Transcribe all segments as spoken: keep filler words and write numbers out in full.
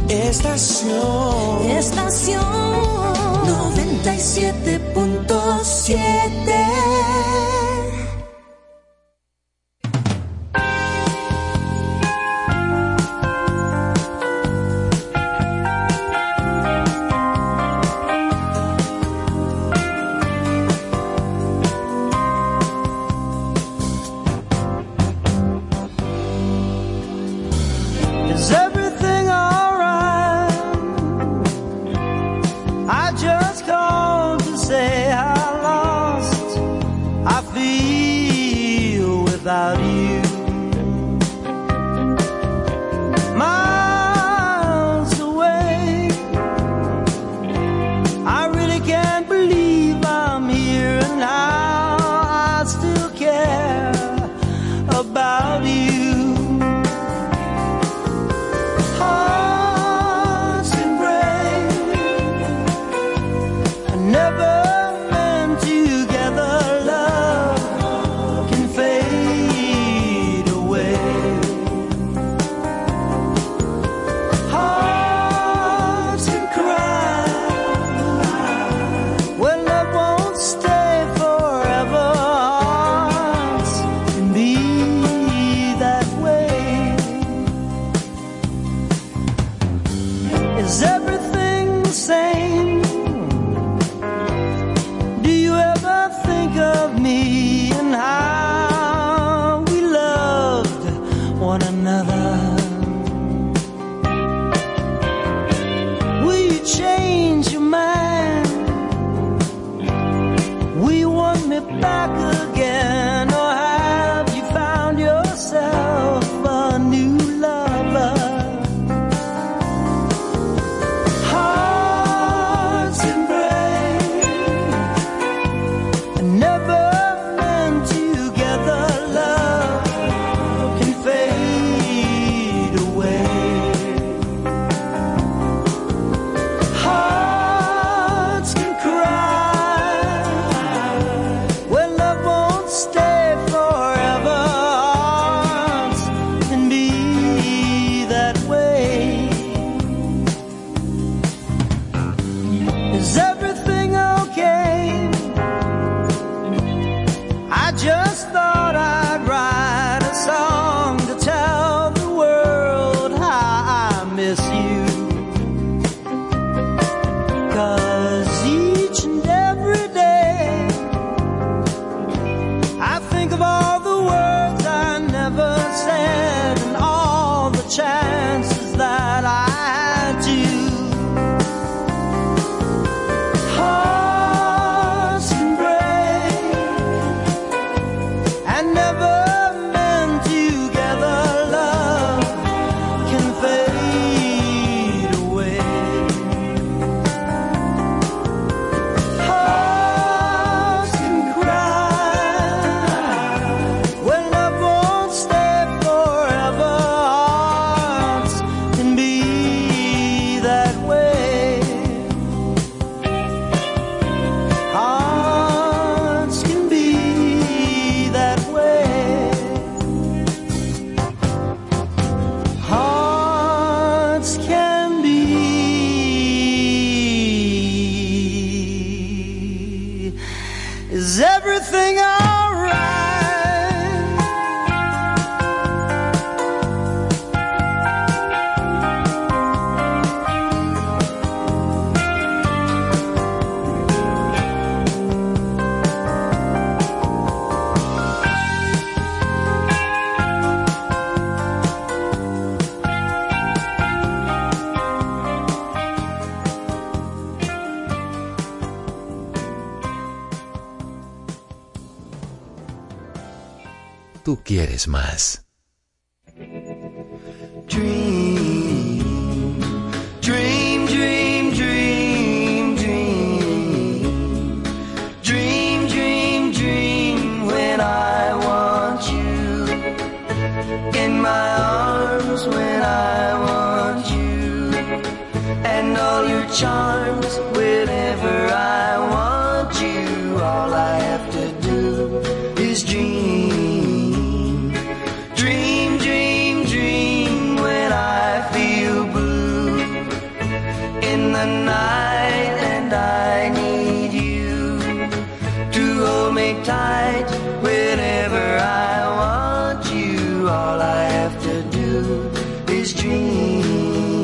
Estación, estación noventa y siete punto siete. Tú quieres más. Dream, dream, dream, dream, dream. Dream, dream, dream when I want you. In my arms when I want you. And all your charms whenever I want you. All I have to do is dream. Dream, dream, dream when I feel blue. all I have to do is dream.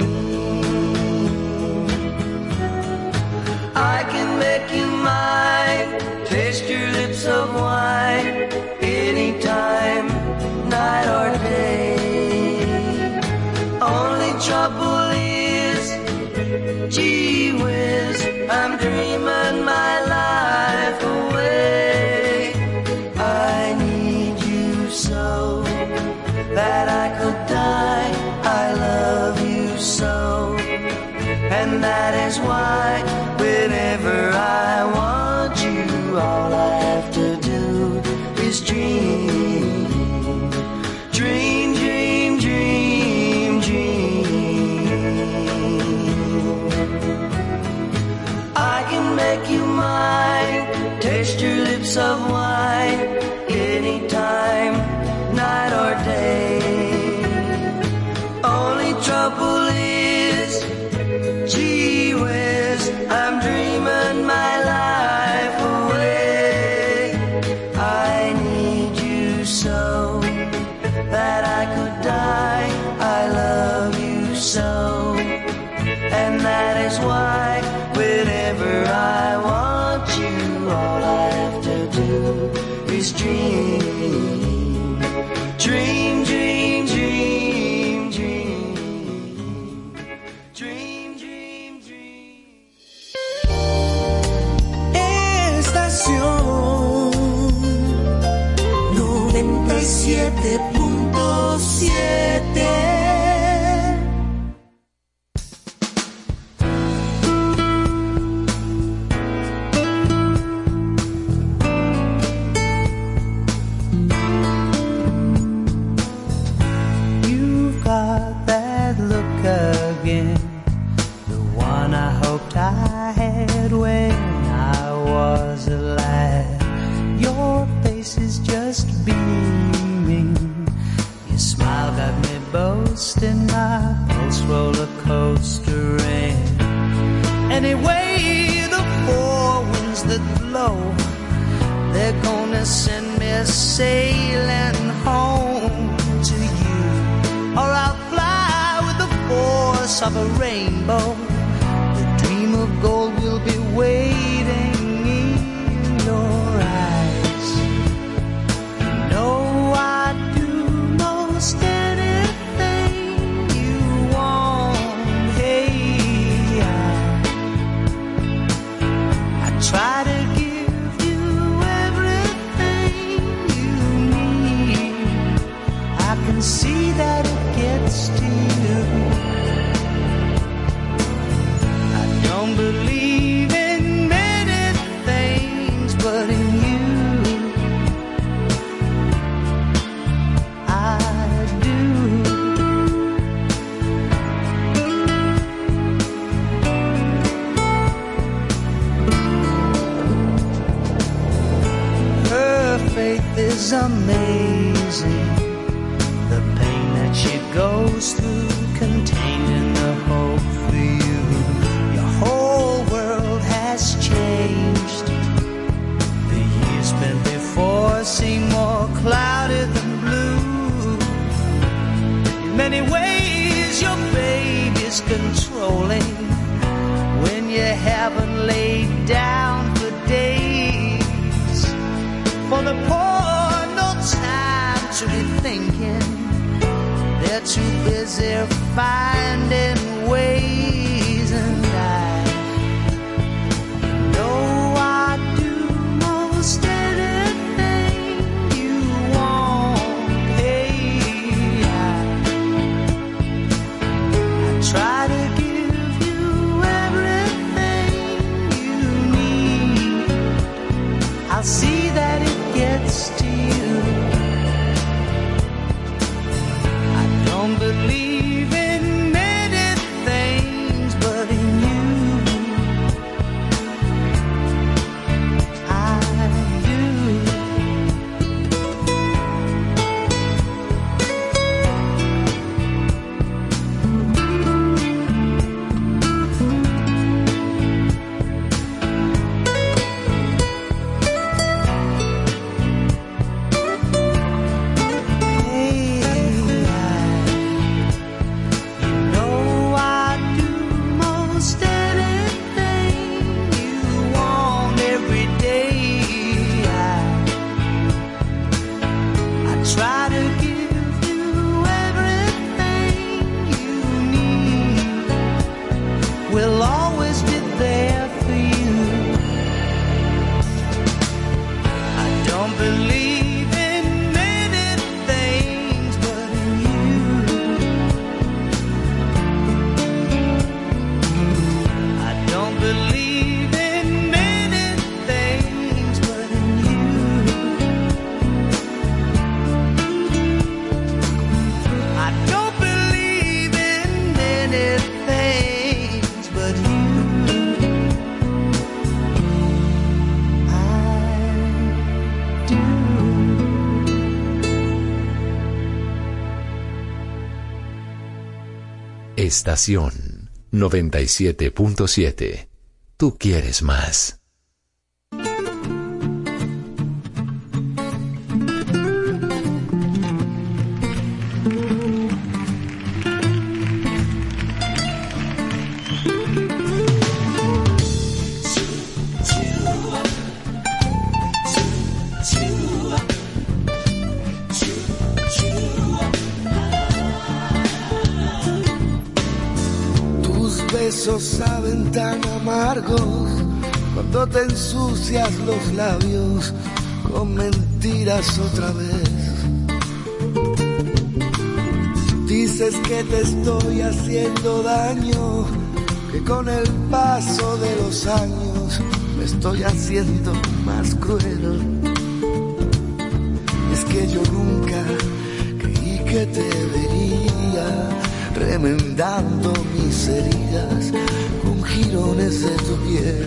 I can make you mine, taste your lips of wine, anytime, night or day. Only trouble is, gee whiz, I'm dreaming my life away. I need you so that I could die. I love you so, and that is why whenever I want you, all I have to do is dream. Dream, dream, dream, dream. I can make you mine, taste your lips of wine, anytime, night or day. Only trouble is, gee whiz, I'm dreaming my life away. I need you so that I could die. I love you so, and that is why whenever I want you, all I have to do is dream. Dream, dream, dream, dream. Dream, dream, dream. Estación noventa y siete punto siete. Sailing home to you, or I'll fly with the force of a rainbow. The dream of gold will be waiting in your eyes. You know I'd do most anything you want. Hey, I, I try to see that it gets to you. I don't believe in many things, but in you I do. Her faith is amazing. She goes through, contained in the hope for you. Your whole world has changed. The years spent before seem more clouded than blue. In many ways, your baby's controlling when you haven't laid down for days. For the poor, no time to be thinking. They're too busy finding ways, and I know I'd do most anything you want. Hey, I, I try to give you everything you need. I'll see that it gets to you. Don't believe in many things, Estación noventa y siete punto siete. Tú quieres más. Besos saben tan amargos cuando te ensucias los labios con mentiras otra vez. Dices que te estoy haciendo daño, que con el paso de los años me estoy haciendo más cruel. Es que yo nunca creí que te vería remendando mis heridas con jirones de tu piel.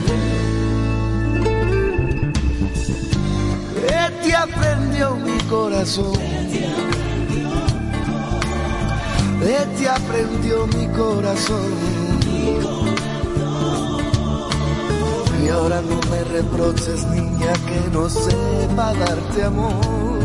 ¿Qué te aprendió mi corazón? ¿Qué te aprendió mi corazón? Y ahora no me reproches, niña, que no sepa darte amor.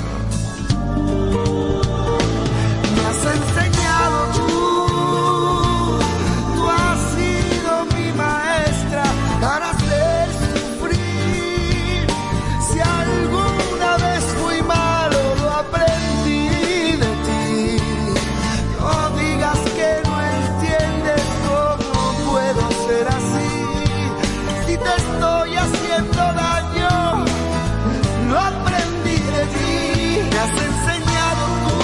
Me has enseñado tú, tú has sido mi maestra para hacer sufrir. Si alguna vez fui malo, lo aprendí de ti. No digas que no entiendes cómo puedo ser así. Si te estoy haciendo daño, lo aprendí de ti. Me has enseñado tú.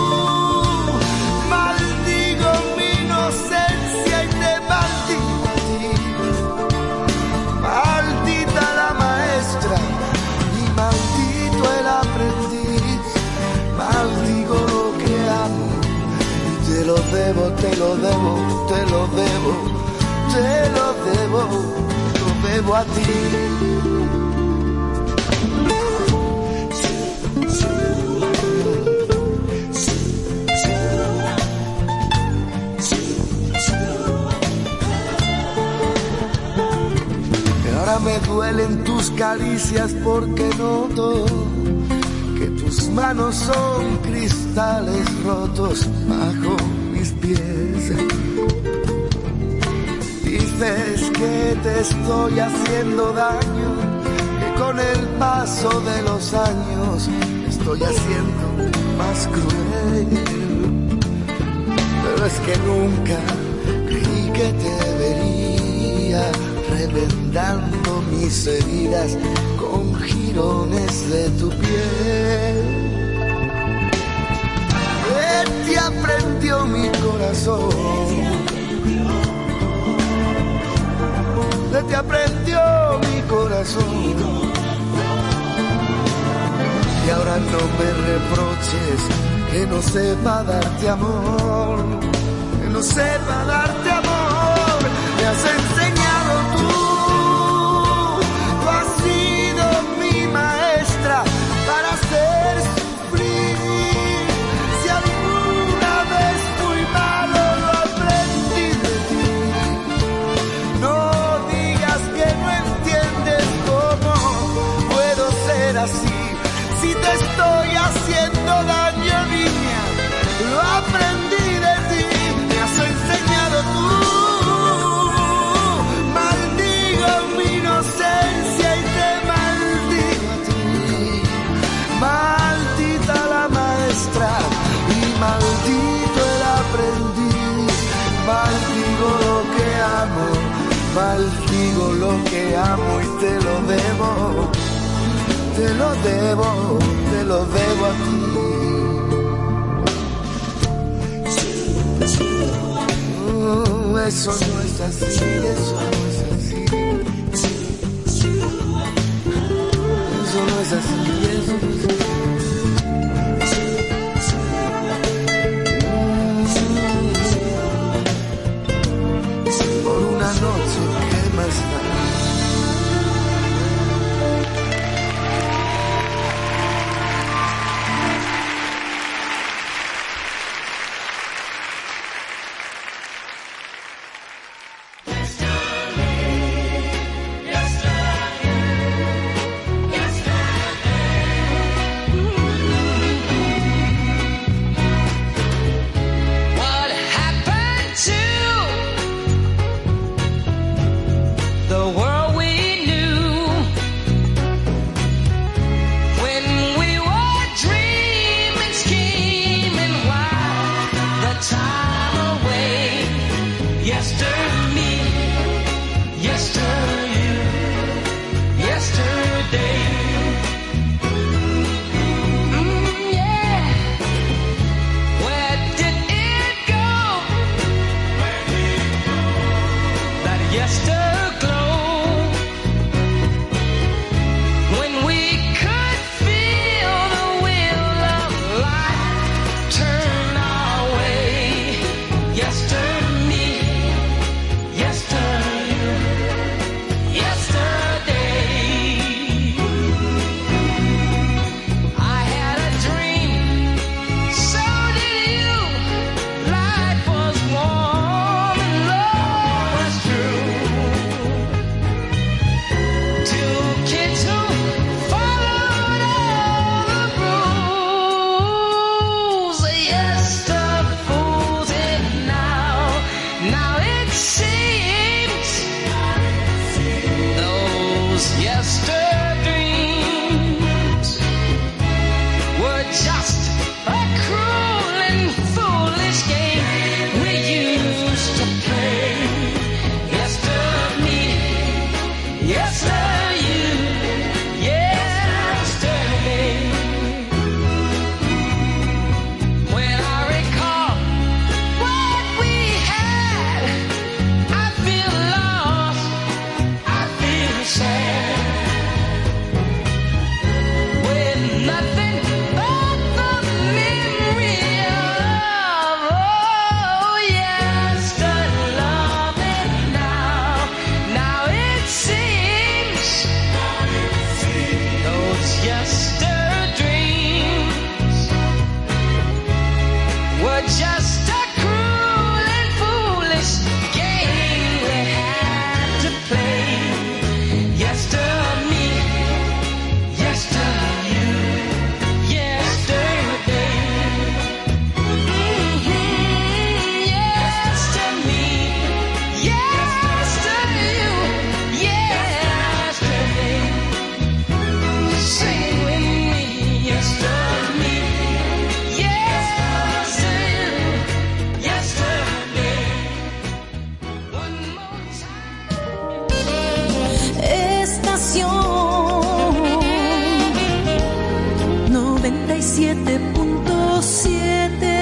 Maldigo mi inocencia y te maldigo a ti. Maldita la maestra y maldito el aprendiz. Maldigo lo que amo y te lo debo, te lo debo, te lo debo, te lo debo, lo debo a ti. Ahora me duelen tus caricias porque noto que tus manos son cristales rotos bajo mis pies. Dices que te estoy haciendo daño, que con el paso de los años me estoy haciendo más cruel. Pero es que nunca creí que te vería remendando mis heridas con jirones de tu piel. ¿Qué te aprendió mi corazón? ¿Qué te aprendió mi corazón? Y ahora no me reproches que no sepa darte amor, que no sepa darte amor. Me has enseñado tú, tú has sido mi maestra para hacer sufrir. Si alguna vez fui malo, lo aprendí de ti. No digas que no entiendes cómo puedo ser así. Si te estoy haciendo daño, niña, lo aprendí de ti. Me has enseñado tú. Maldita la maestra y maldito el aprendiz. Maldigo lo que amo, maldigo lo que amo y te lo debo, te lo debo, te lo debo a ti. Oh, eso no es así, eso no es así. Eso no es así, eso no es así. Por una noche, ¿qué más da? time away. Yesterday, yesterday, you, yesterday. Mm, yeah. Where did it go? Where did it go? That yesterglow. When we could feel the wheel of life turn our way. Yesterday, yesterday, yesterday. I had a dream, so did you. Life was warm and love was true. Two kids who followed all the rules. Yes, the fools it now. Now it seems those yester dreams were just a cruel and foolish game we used to play. Yester me, yester you, yesterday. When I recall what we had, I feel lost, I feel sad. With nothing but the memory of, oh, yesterday loving now. Now it seems those yester dreams were just a cruel and foolish game we had to play. Yester me, yester you, yesterday. Mhm, yester me, yester you, yesterday. Sing with me, yester me, yester you, yesterday. One more time. Estación noventa y siete punto siete.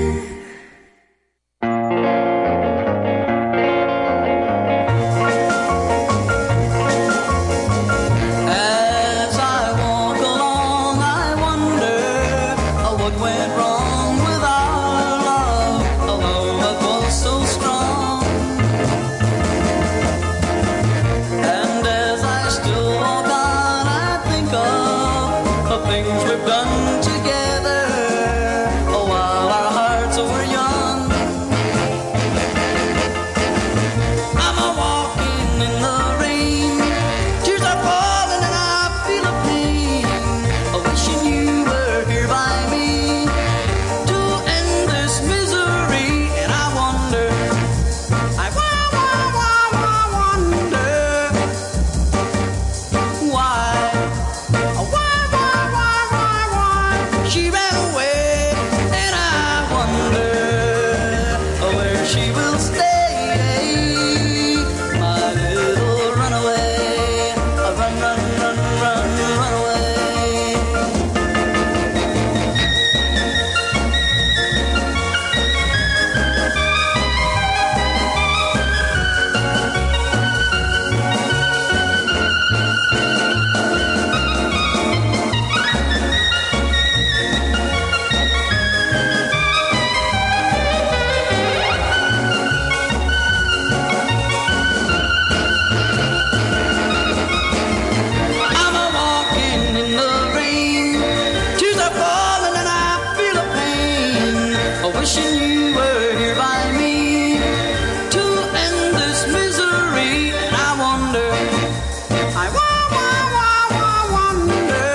As I walk along, I wonder uh, what went wrong with our love, a love that was so strong. And as I still walk on, I think of the things we've done together, oh, while our hearts were young. I'm a walking in the rain, tears are falling and I feel a pain, a wishing you were here by me to end this misery. And I wonder, I wa- wa- wa- wa- wonder why, why, why, why, why, why she ran away. And I wonder where she will stay, my little runaway. Run, run, run, run, run away. I'm a walking in the rain, tears are falling and I feel a pain, a wishing you were here by me to end this misery. And I wonder, I wa- wa- wa- wa- wonder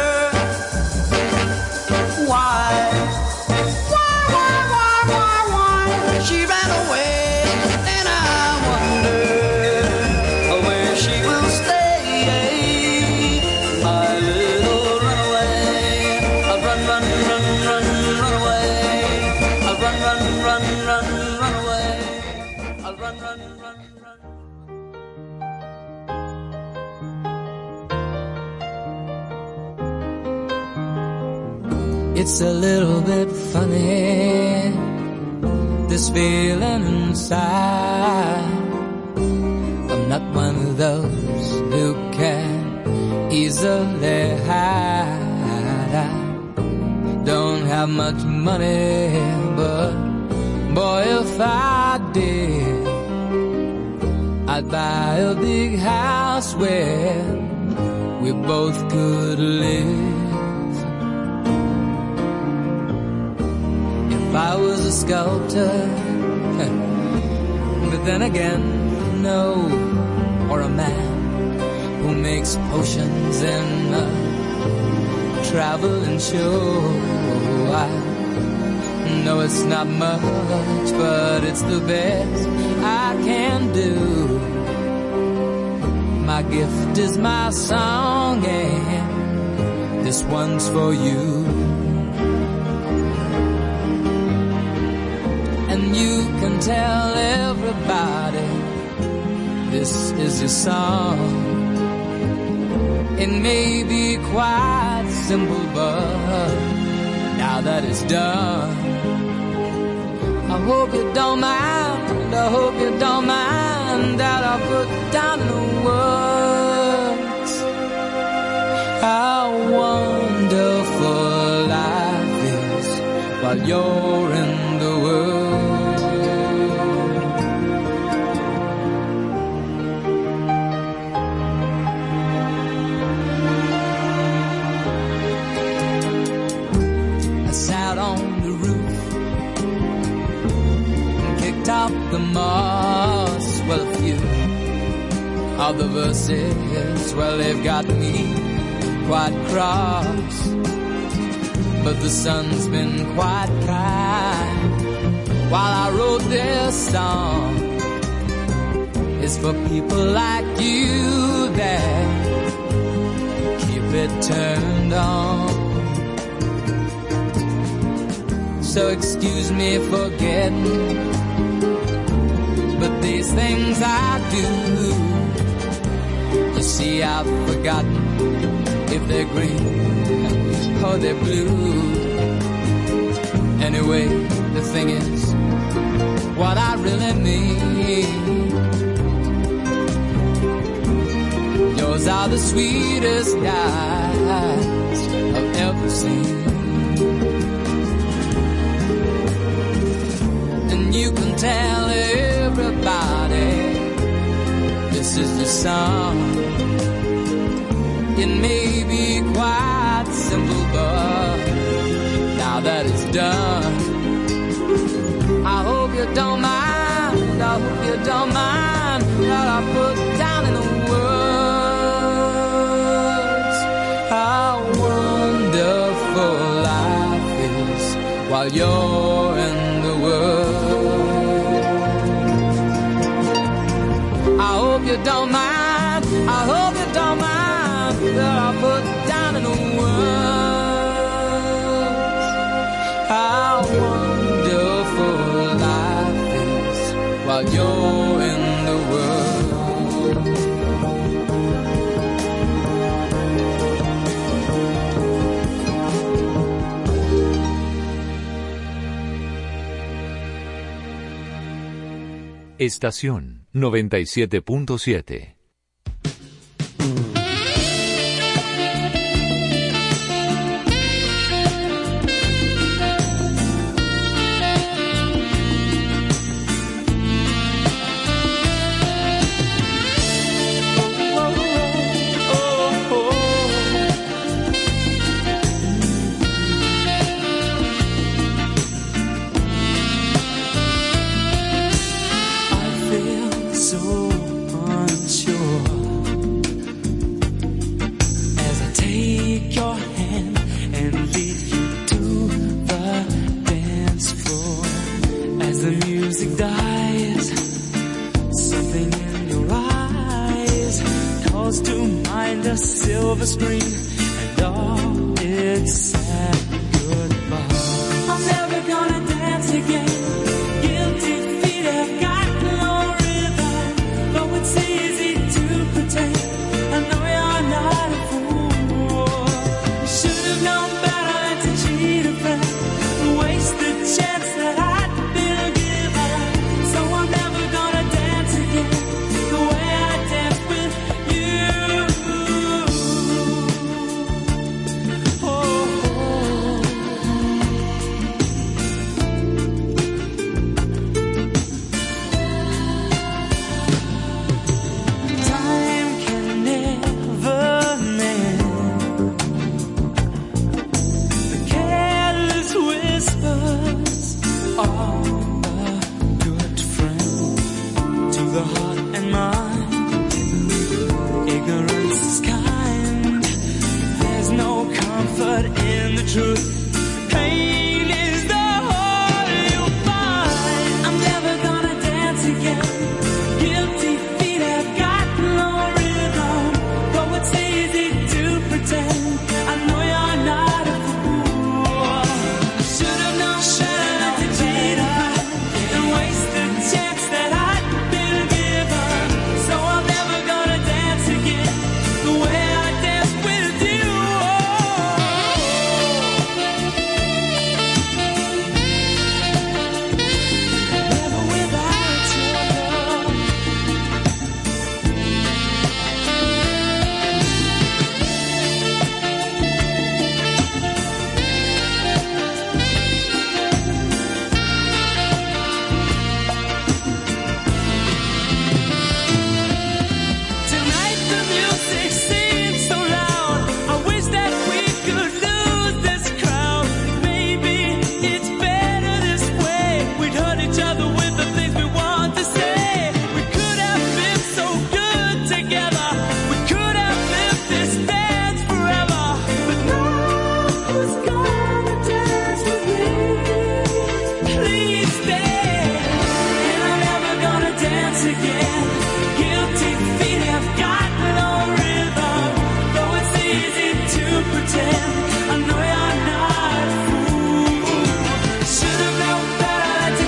why, why, why, why, why, why she ran away. And I wonder where she will stay, my little runaway. Run, run, run, run, run away. Run, run, run. run, run, run away. I'll run, run, run, run. It's a little bit funny, this feeling inside. I'm not one of those who can easily hide. I don't have much money, but boy, if I did, I'd buy a big house where we both could live. If I was a sculptor, but then again, no, or a man who makes potions in a traveling show. I know it's not much, but it's the best I can do. My gift is my song, and this one's for you. And you can tell everybody this is your song. It may be quite simple, but now that it's done, I hope you don't mind, I hope you don't mind that I put down in the words how wonderful life is while you're in the world. Top the moss, well, a few of the verses, well, they've got me quite cross, but the sun's been quite kind while I wrote this song. It's for people like you that keep it turned on. So excuse me for getting, but these things I do, you see, I've forgotten if they're green or they're blue. Anyway, the thing is, what I really mean, yours are the sweetest eyes I've ever seen. And you can tell everybody this is your song. It may be quite simple, but now that it's done, I hope you don't mind, I hope you don't mind that I put down in the words how wonderful life is while you're in the world. I hope you don't mind, I hope you don't mind that I put down in the words how wonderful life is while you're in the world. Estación noventa y siete punto siete. Silver screen and all its sad goodbye. I'm never gonna dance again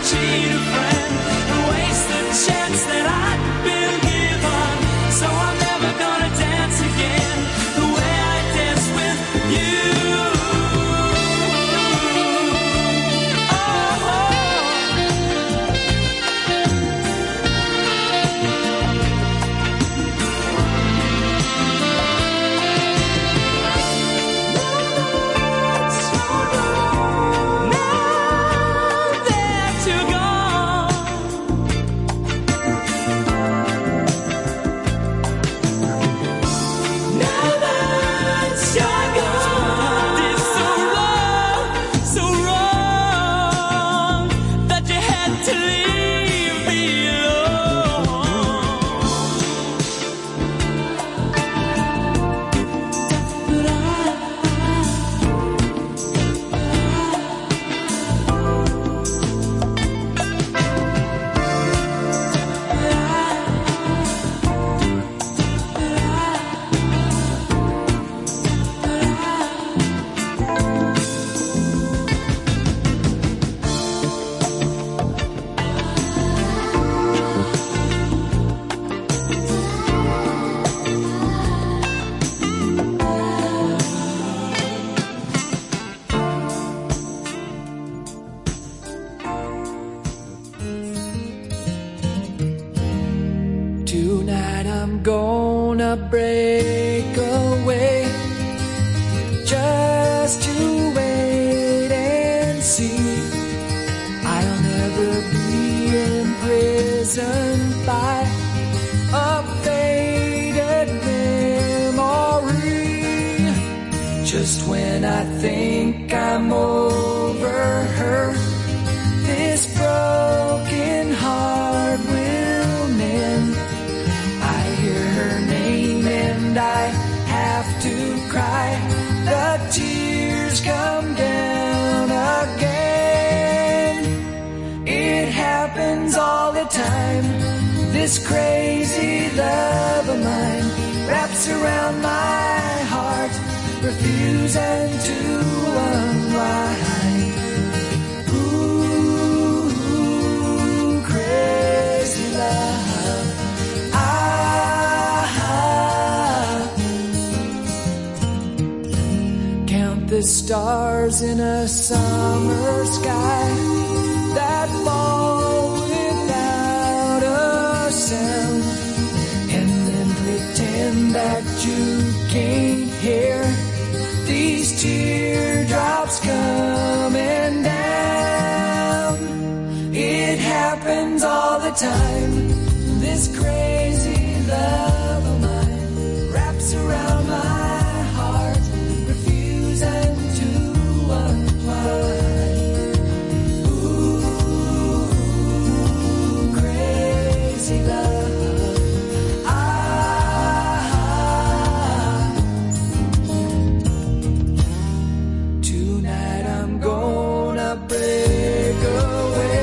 cheat a friend and waste the chance that I'd been given. So I'm never gonna dance again the way I danced with you. Tonight I'm gonna break away just to wait and see. I'll never be imprisoned by a faded memory. Just when I think I'm over her, this broken heart will mend. Her name and I have to cry. The tears come down again. It happens all the time. This crazy love of mine wraps around my heart, refusing to unwind. Ooh, crazy love. The stars in a summer sky that fall without a sound, and then pretend that you can't hear these teardrops coming down. It happens all the time. This crazy love of mine wraps around my heart, refusing to unwind. Ooh, crazy love. Ah, tonight I'm gonna break away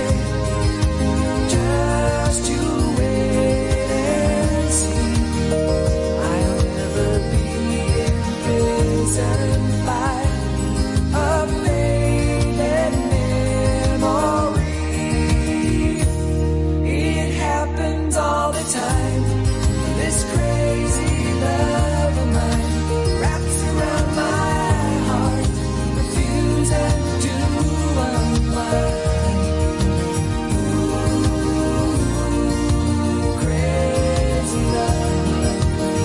just to wait and see. I'll never be imprisoned by a faded memory. It happens all the time. This crazy love of mine wraps around my heart, refusing to unwind. Ooh, crazy love.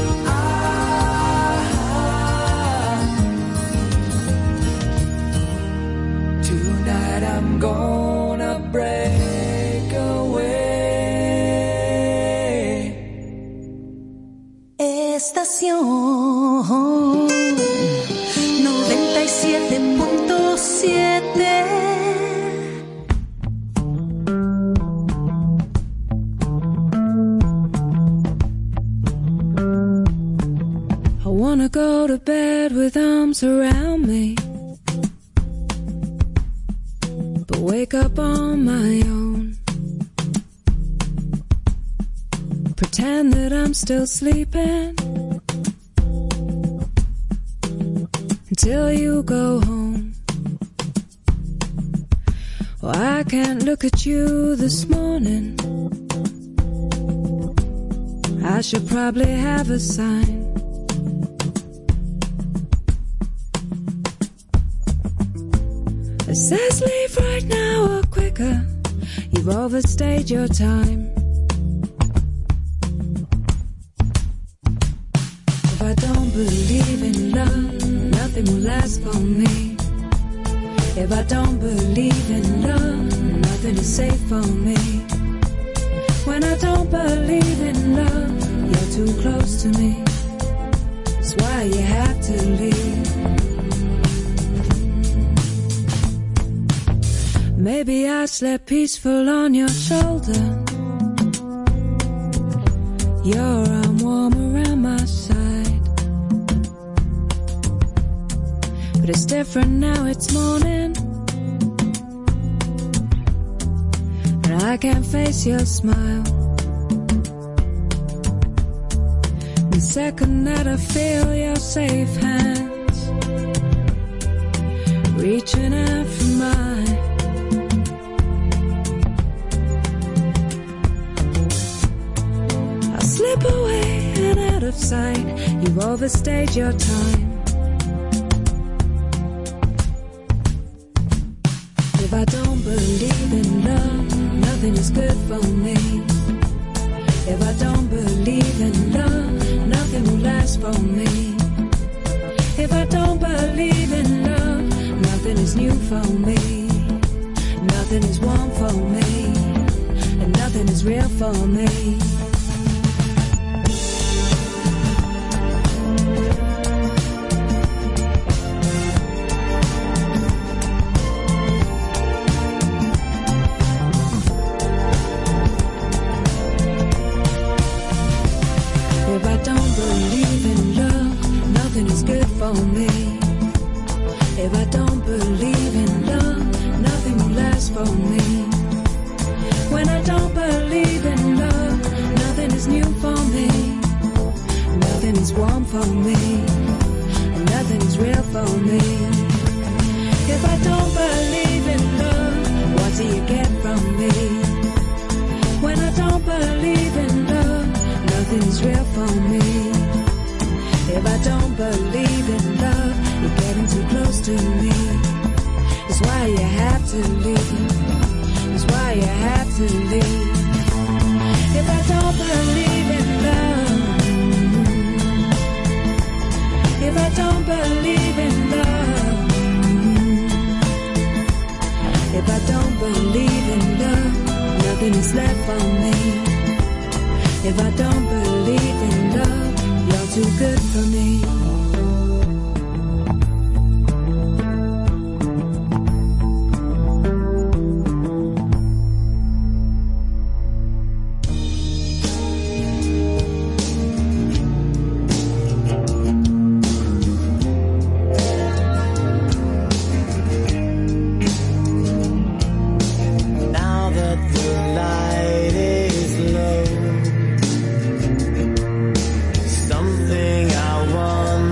Ah, tonight I'm gonna break away. Estación noventa y siete punto siete. I wanna go to bed with arms around me, but wake up on my own. Pretend that I'm still sleeping until you go home. Oh, I can't look at you this morning. I should probably have a sign. It says leave right now or quicker. You've overstayed your time. If I don't believe in love, nothing will last for me. If I don't believe in love, nothing is safe for me. When I don't believe in love, you're too close to me. That's why you have to leave. Maybe I slept peaceful on your shoulder. Your arm warm around my side. But it's different now, it's morning. And I can't face your smile. The second that I feel your safe hands reaching out for mine, I'll slip away and out of sight. You've overstayed your time. If I don't believe in love, nothing is good for me. If I don't believe in love, nothing will last for me. If I don't believe in love, nothing is new for me. Nothing is warm for me, and nothing is real for me. For me. If I don't believe in love, nothing will last for me. When I don't believe in love, nothing is new for me. Nothing is warm for me, and nothing is real for me. If I don't believe in love, what do you get from me? When I don't believe in love, nothing is real for me. If I don't believe in love, you're getting too close to me. That's why you have to leave. That's why you have to leave. If I don't believe in love, if I don't believe in love, if I don't believe in love, nothing is left for me. If I don't believe in love, you're too good for me. Something I want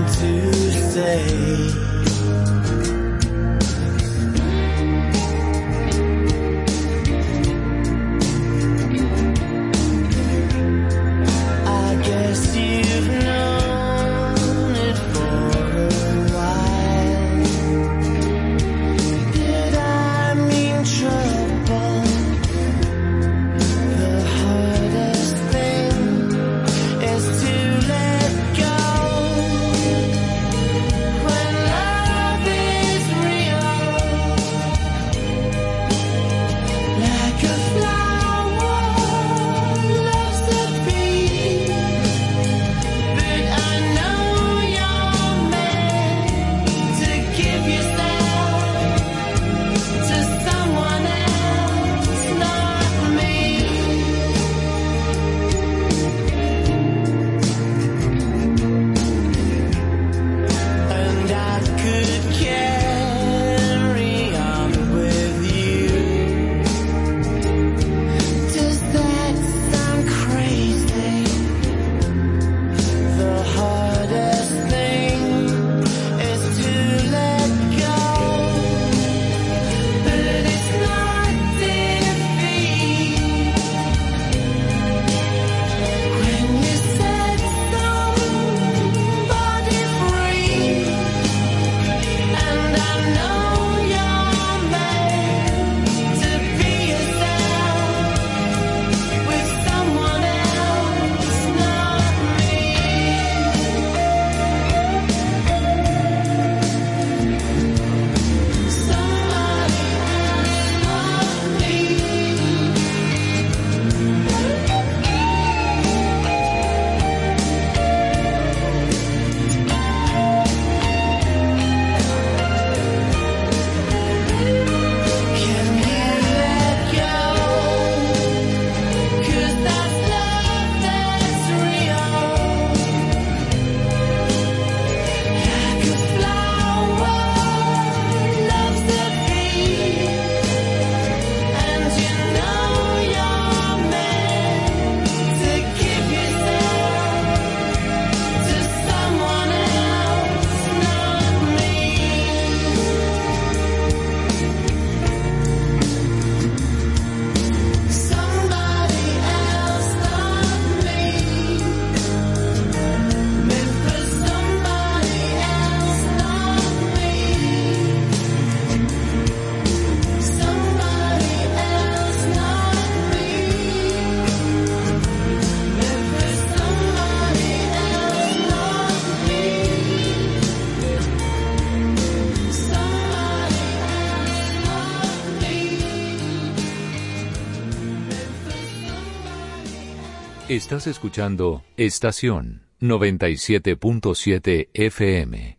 Estás escuchando Estación noventa y siete punto siete F M.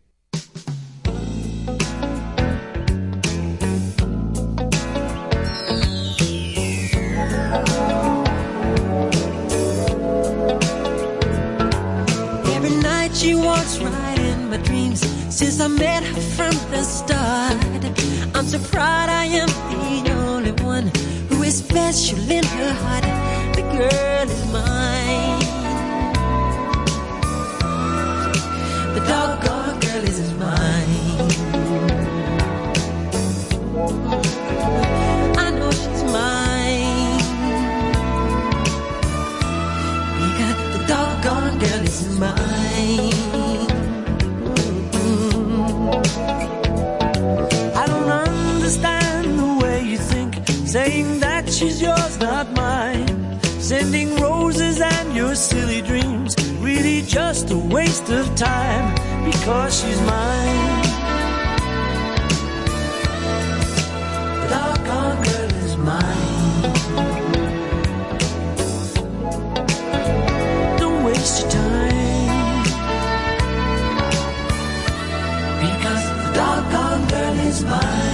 Every night she walks right in my dreams since I met her from the start. I'm so proud I am the only one who is special in her heart. The girl is mine. The doggone girl is mine. I know she's mine. Because the doggone girl is mine. I don't understand the way you think, saying that she's yours, not mine. Sending roses and your silly dreams, really just a waste of time, because she's mine. The doggone girl is mine. Don't waste your time, because the doggone girl is mine.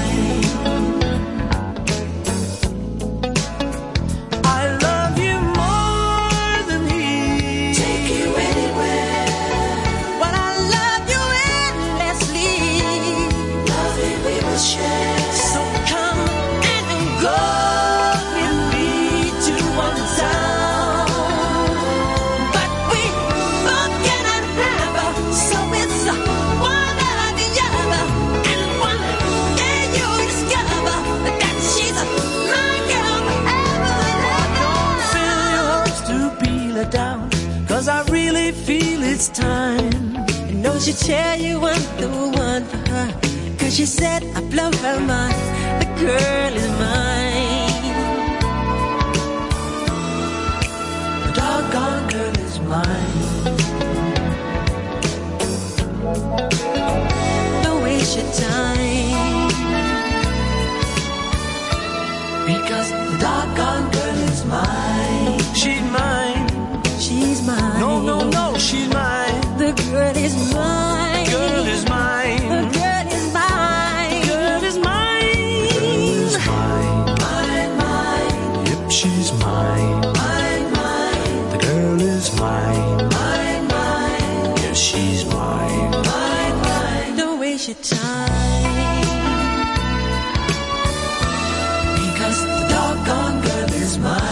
It's time. I know she'll tell you I'm the one for her, cause she said I blow her mind. The girl is mine. The doggone girl is mine. Don't waste your time, because the doggone girl is mine. She's mine. She's mine. No, no, no, she's mine. The girl is mine. The girl is mine. The girl is mine. The girl is mine. The girl is mine. Mine, mine. Yep, she's mine. Mine, mine. The girl is mine. Mine, mine. Yes, she's mine. Mine, mine. Don't waste your time, because the doggone girl is mine.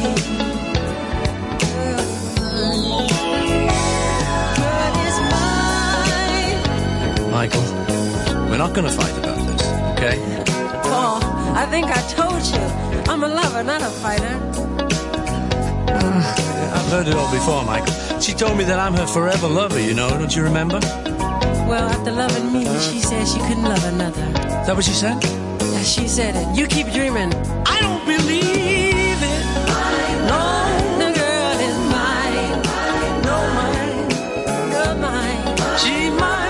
Michael, we're not going to fight about this, okay? Paul, I think I told you. I'm a lover, not a fighter. Uh, I've heard it all before, Michael. She told me that I'm her forever lover, you know, don't you remember? Well, after loving me, she said she couldn't love another. Is that what she said? Yeah, she said it. You keep dreaming. I don't believe it. No. The girl is mine. No, mine. You're mine. She's mine.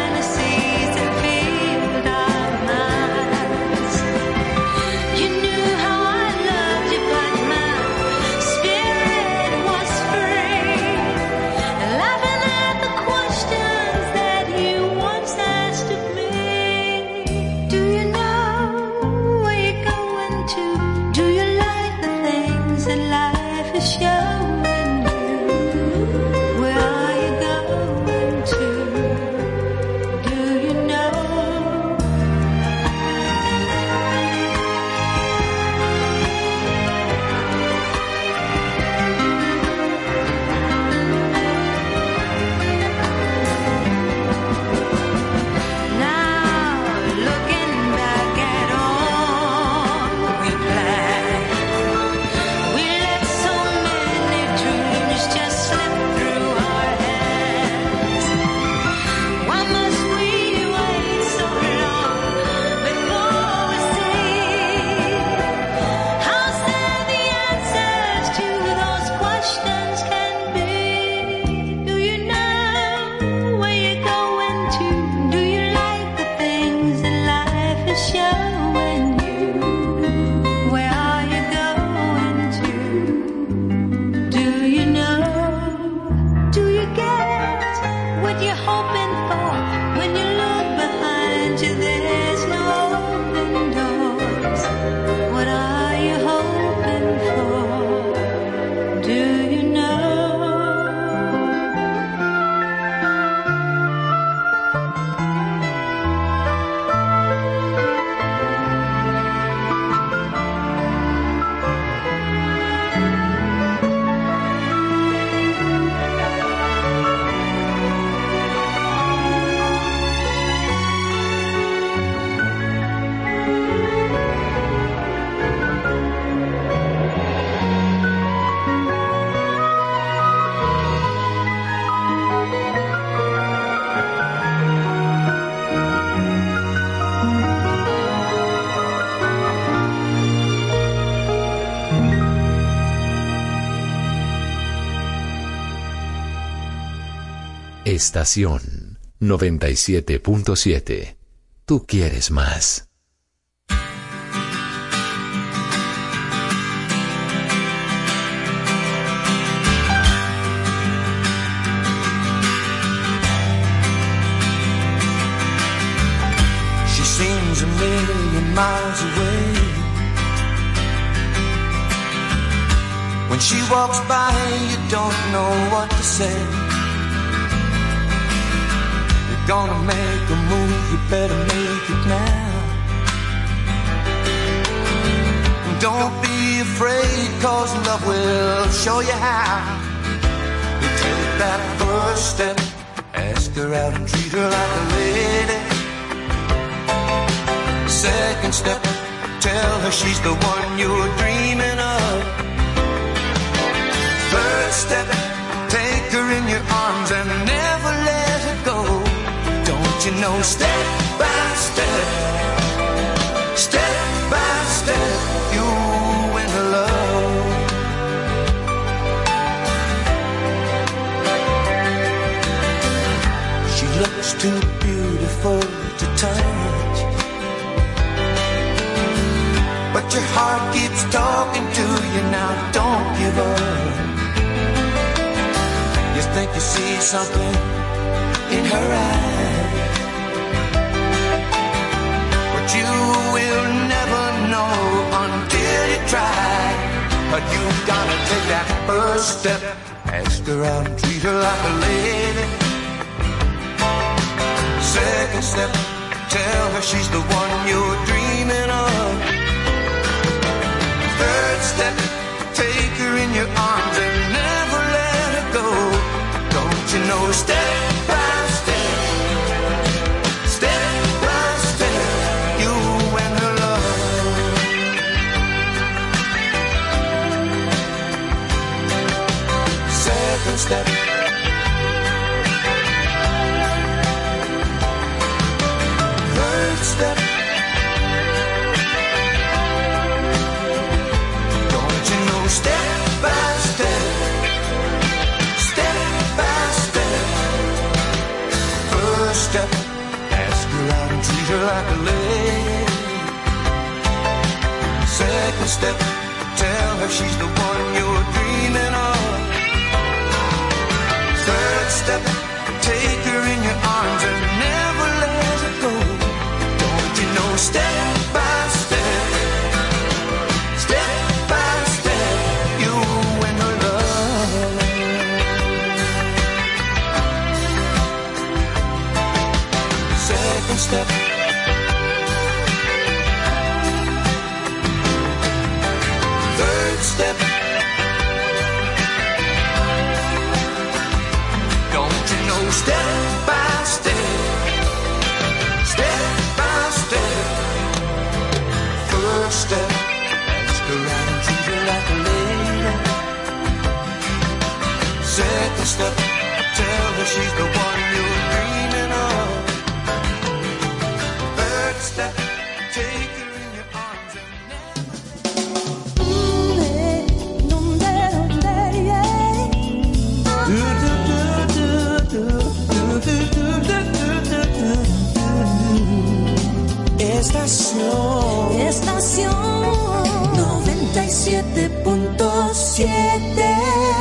You knew that life is showing you. Where are you going to? Do you know? Estación noventa y siete punto siete. Tú quieres más. She seems a million miles away. When she walks by, you don't know what to say. Gonna make a move, you better make it now. Don't be afraid, cause love will show you how. You take that first step, ask her out and treat her like a lady. Second step, tell her she's the one you're dreaming of. Third step, take her in your arms and never let her go. You know, step by step, step by step, you win her love. She looks too beautiful to touch, but your heart keeps talking to you. Now don't give up. You think you see something in her eyes, you will never know until you try. But you gotta take that first step, ask her out and treat her like a lady. Second step, tell her she's the one you're dreaming of. Third step, take her in your arms and never let her go. Don't you know, step by step, step. Third step. Don't you know, step by step, step by step. First step, ask her out and treat her like a lady. Second step, tell her she's the one you're dreaming of. Third step, take her in your arms and never let her go. Don't you know, step by step, step by step, you step. Don't you know, step by step, step by step. First step, ask her out and treat her like a lady. Second step, tell her she's the one you're dreaming of. Third step, take her in your arms and Estación, estación noventa y siete punto siete.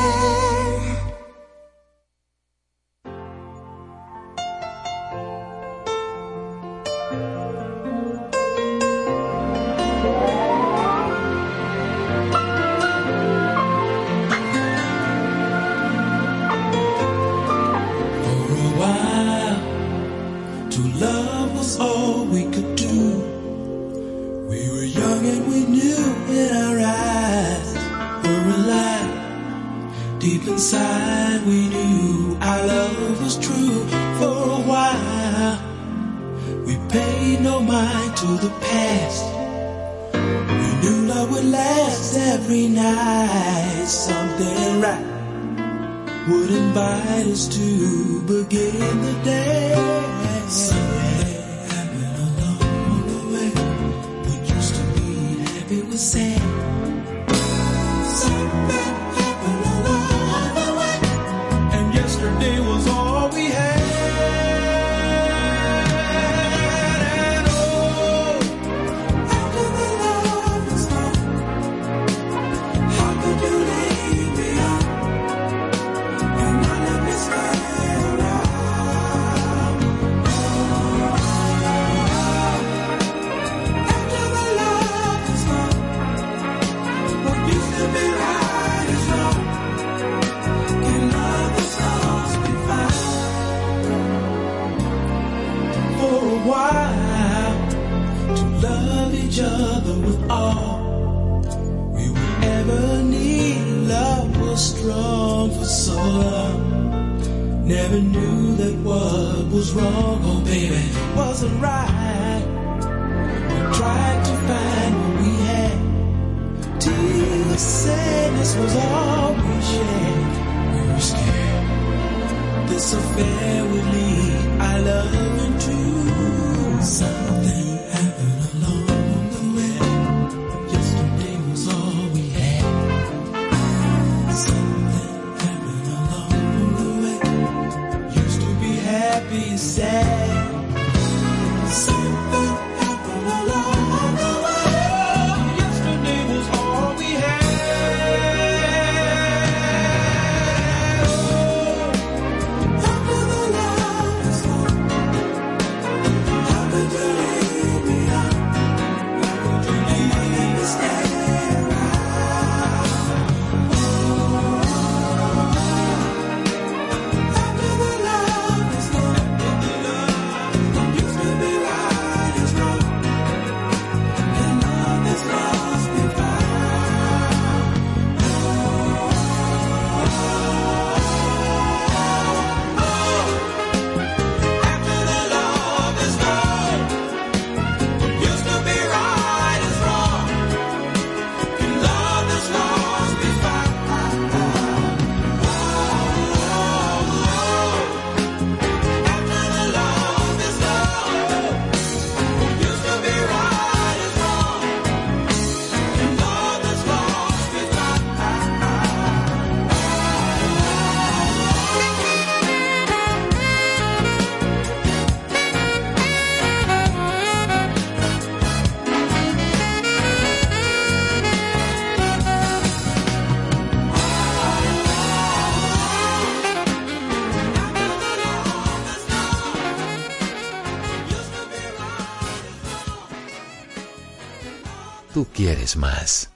Tú quieres más.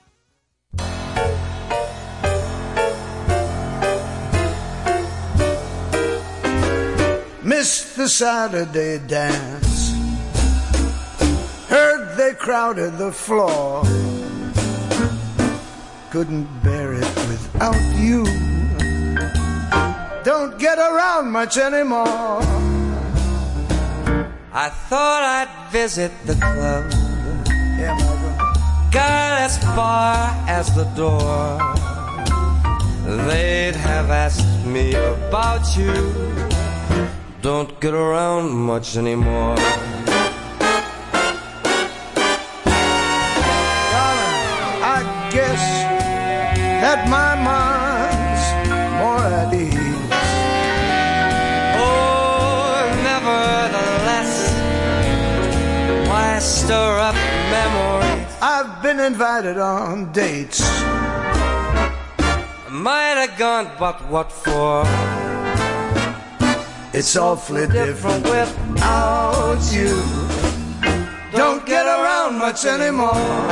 Missed the Saturday dance, heard they crowded the floor, couldn't bear it without you. Don't get around much anymore. I thought I'd visit the club. Yeah, Michael. Got as far as the door. They'd have asked me about you. Don't get around much anymore. Darling, I guess that my mind's more at ease. Oh, nevertheless, why stir up memories? I've been invited on dates. Might have gone, but what for? It's awfully different without you. Don't get around much anymore.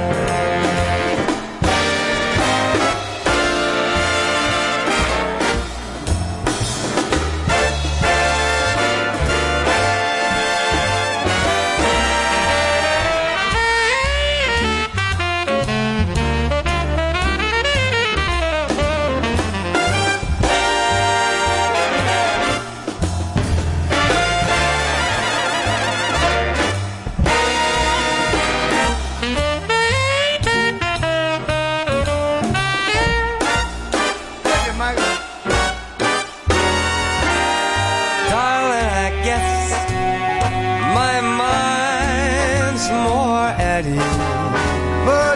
But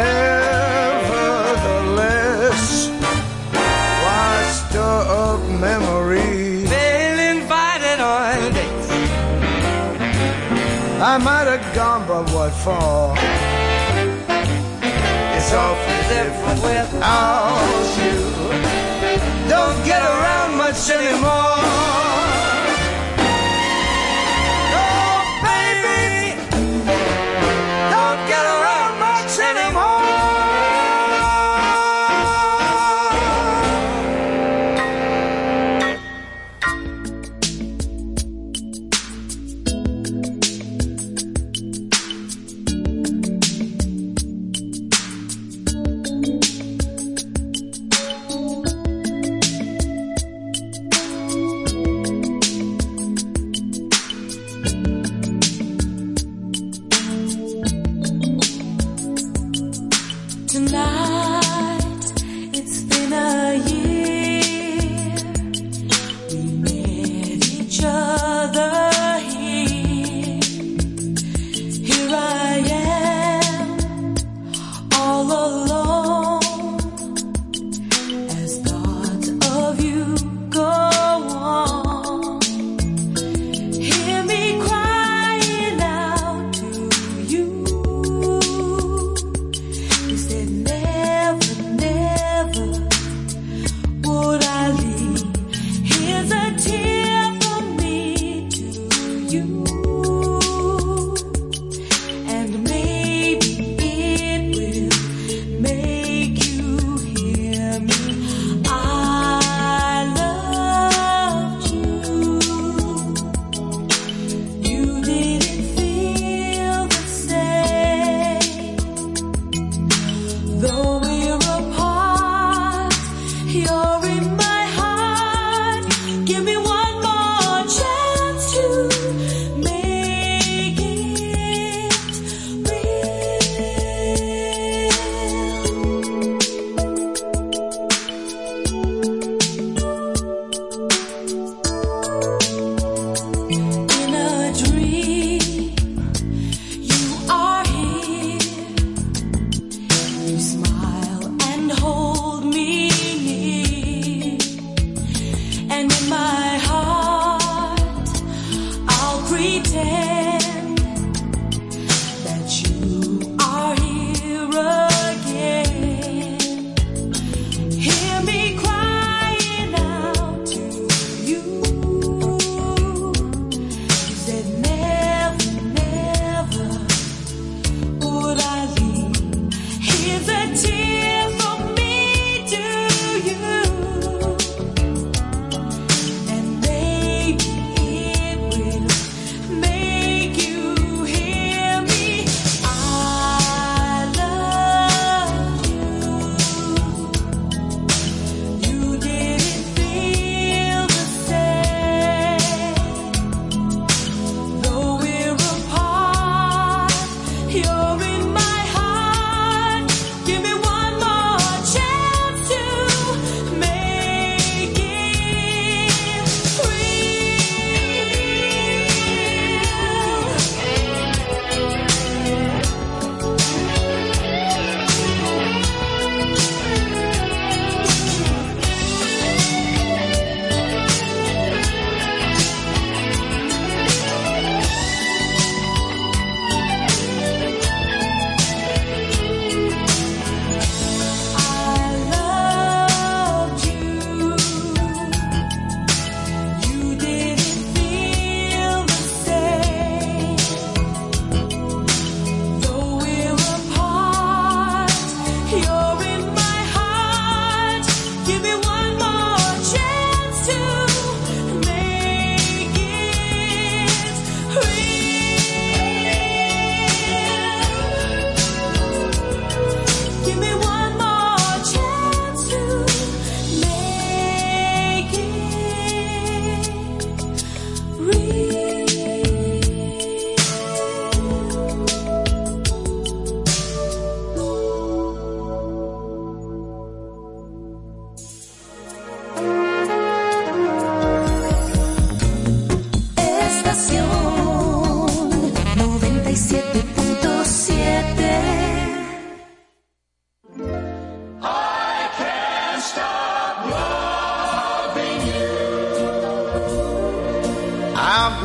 nevertheless, why stir up memories? They'll invite it on dates. I might have gone, but what for? It's awfully different without you. Don't get around much anymore. Make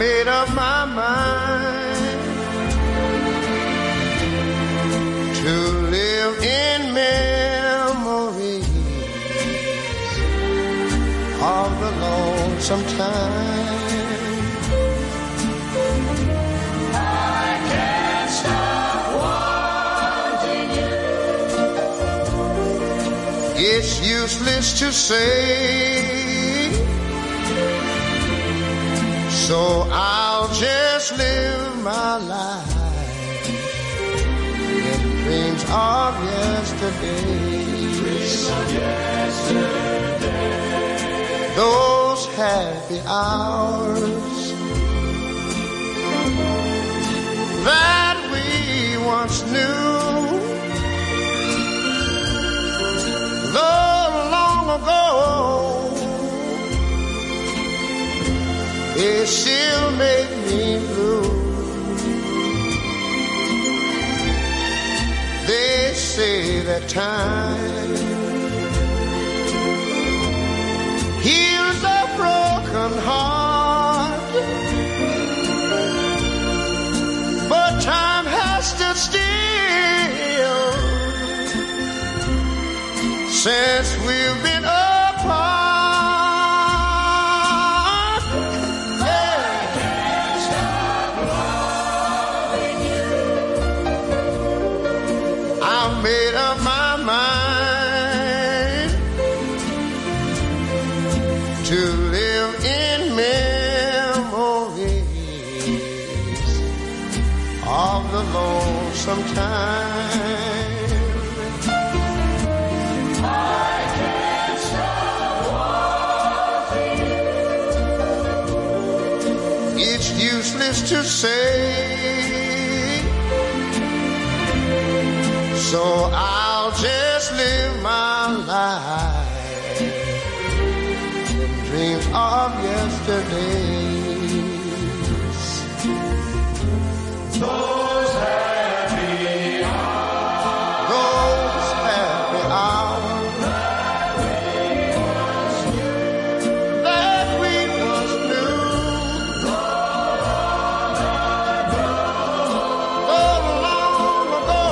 made up my mind to live in memories of the lonesome time. I can't stop wanting you. It's useless to say, so I'll just live my life in dreams of yesterday. Dreams of yesterday. Those happy hours that we once knew, though long ago, they still make me blue. They say that time heals a broken heart, but time has stood still since we've been apart. Made up my mind to live in memories of the lonesome time. I can't stop wanting you. It's useless to say, so I'll just live my life in dreams of yesterdays. Those happy hours, those happy hours that we once knew, oh, long ago.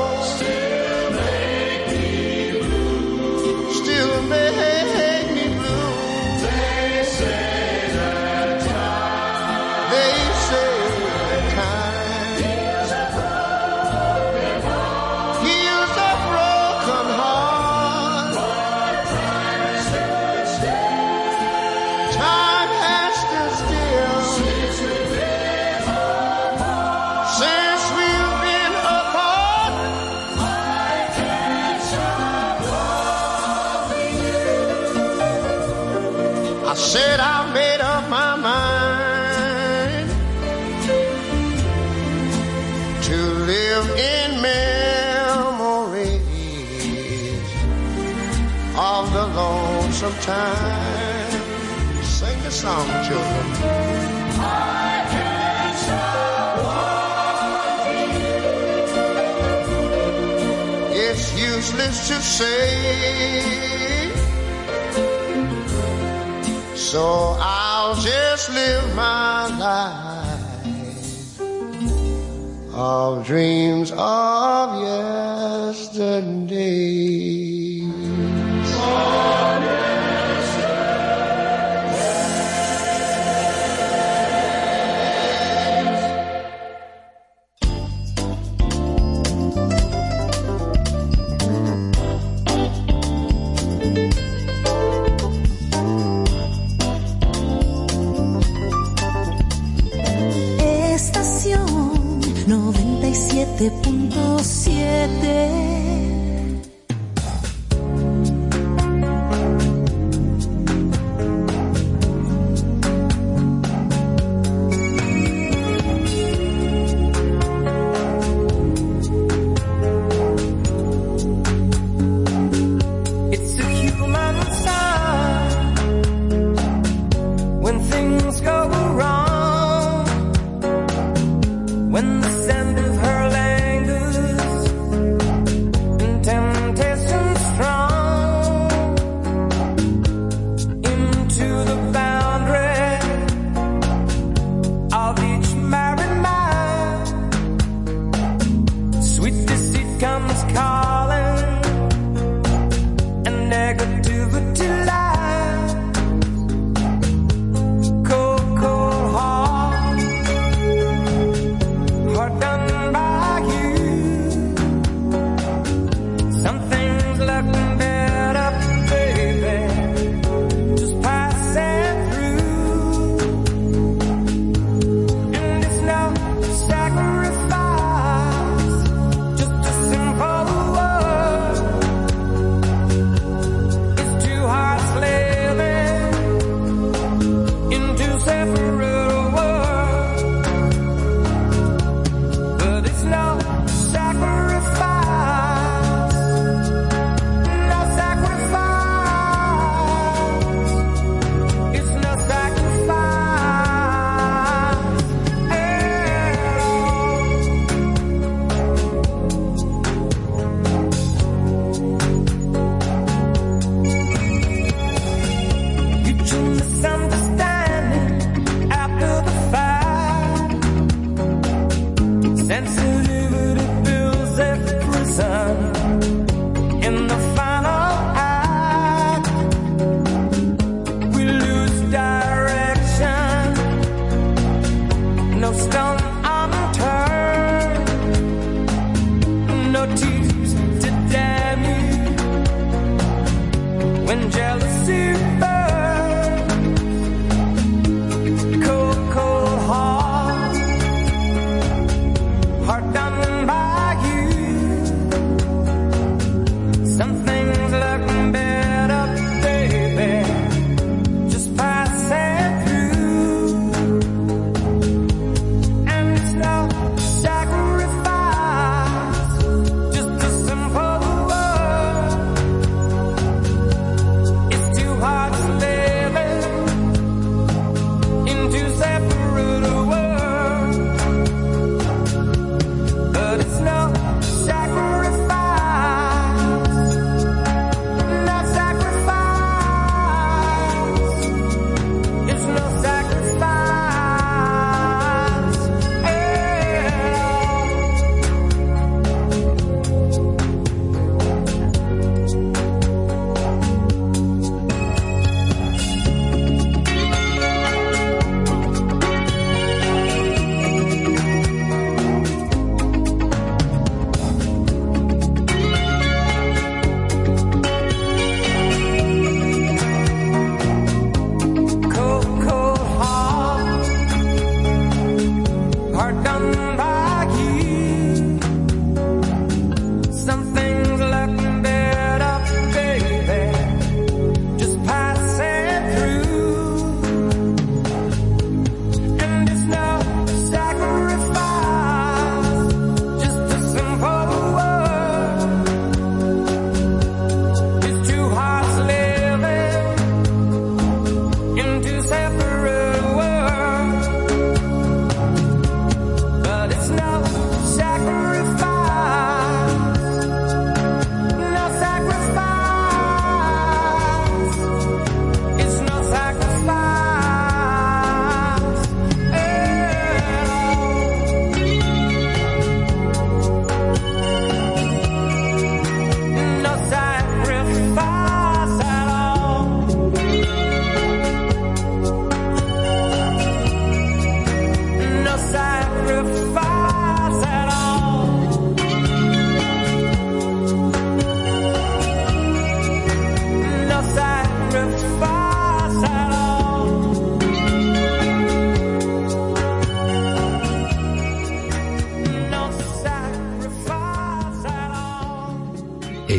Said I made up my mind to live in memories of the lonesome time. Sing the song, children. I can't stop wanting you. It's useless to say, so I'll just live my life of dreams of yesterday. Of noventa y siete punto siete. When the scent of her languors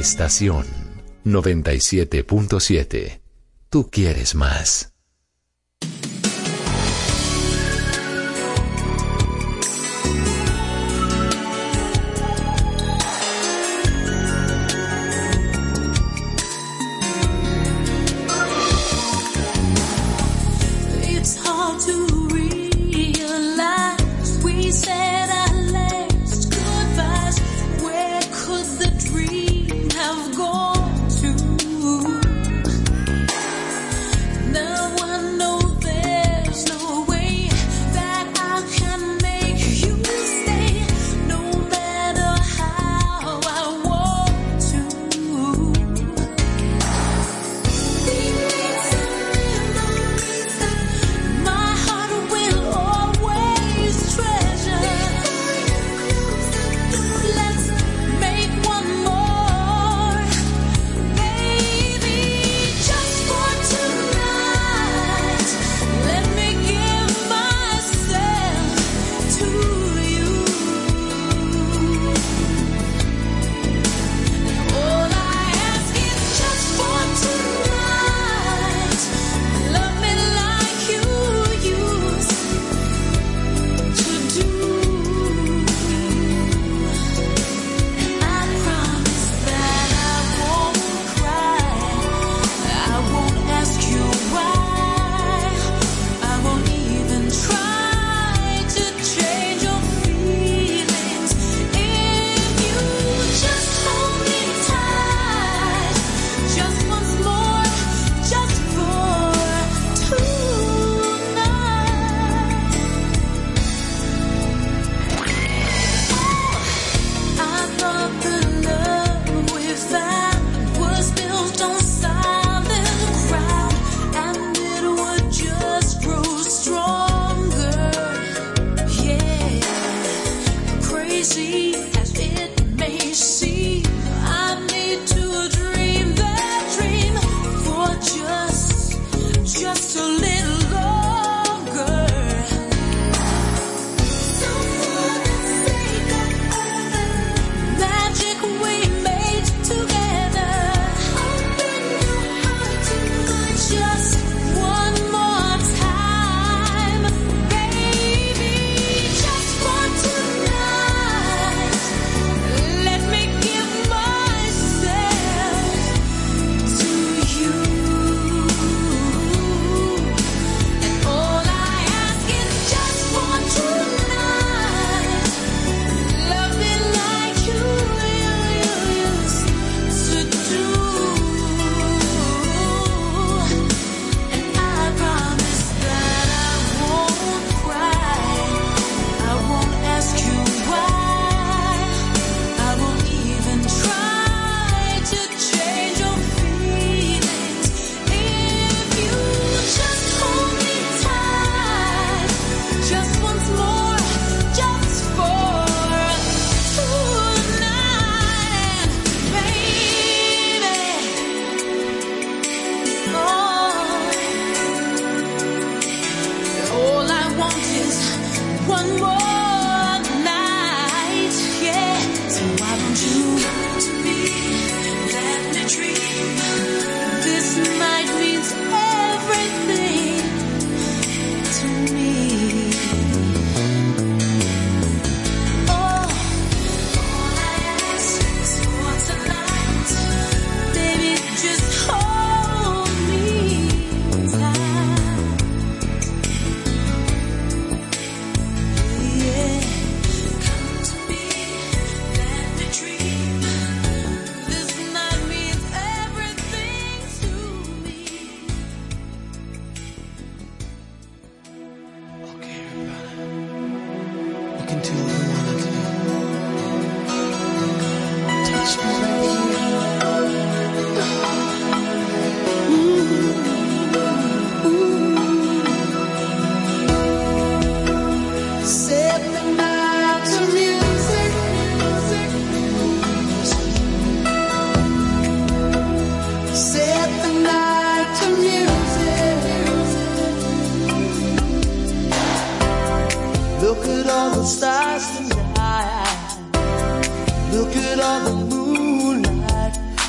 Estación noventa y siete punto siete. Tú quieres más. stars tonight. Look at all the moonlight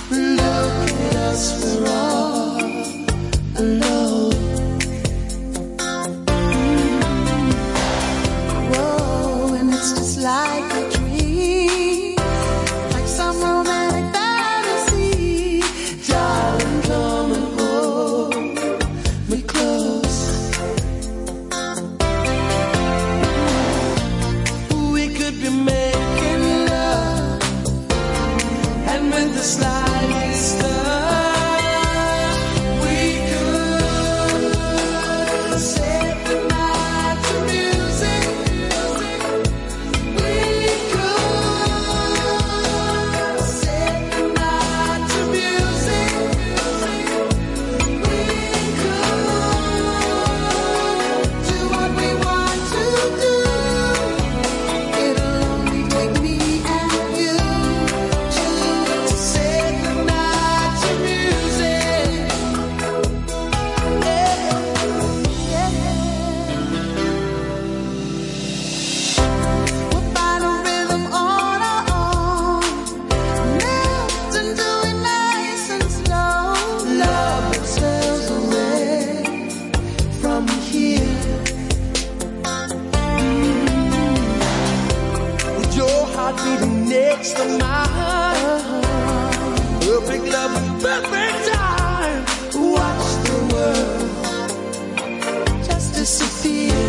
of mine. Perfect love and perfect time. Watch the world just disappear.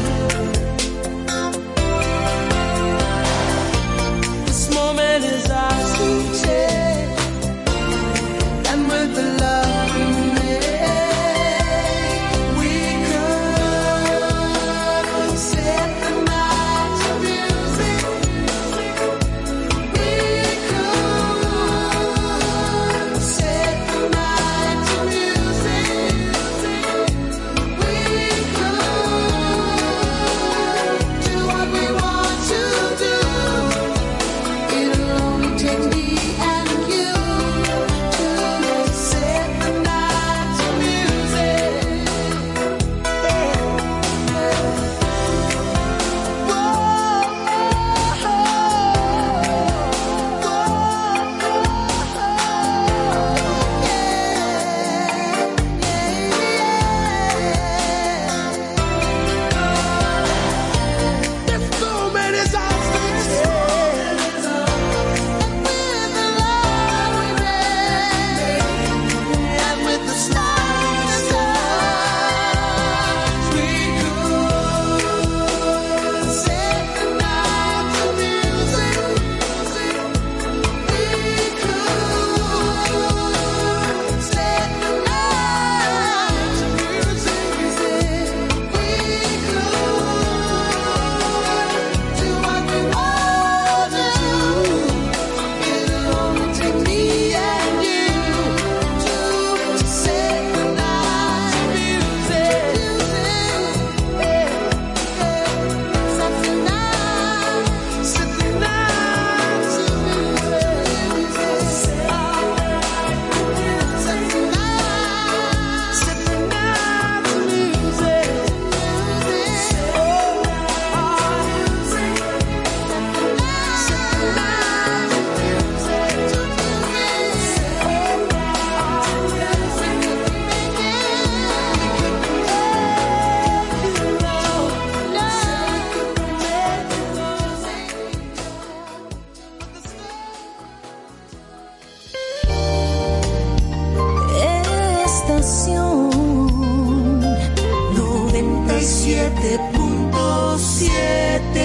This moment is ours to take, and with the love we make, we could set the night to music. We could set the night to music. We could do what we want to do. It'll only take me and you to set the night to music. This moment is ours to take, and with the love we make, and with the stars we could set the night to music. We could set the night to music. We could do what we want to do. It'll only take me and you to set the night to music. Set the night, set the night to music. Set the night, set the night to music. Estación noventa y siete punto siete.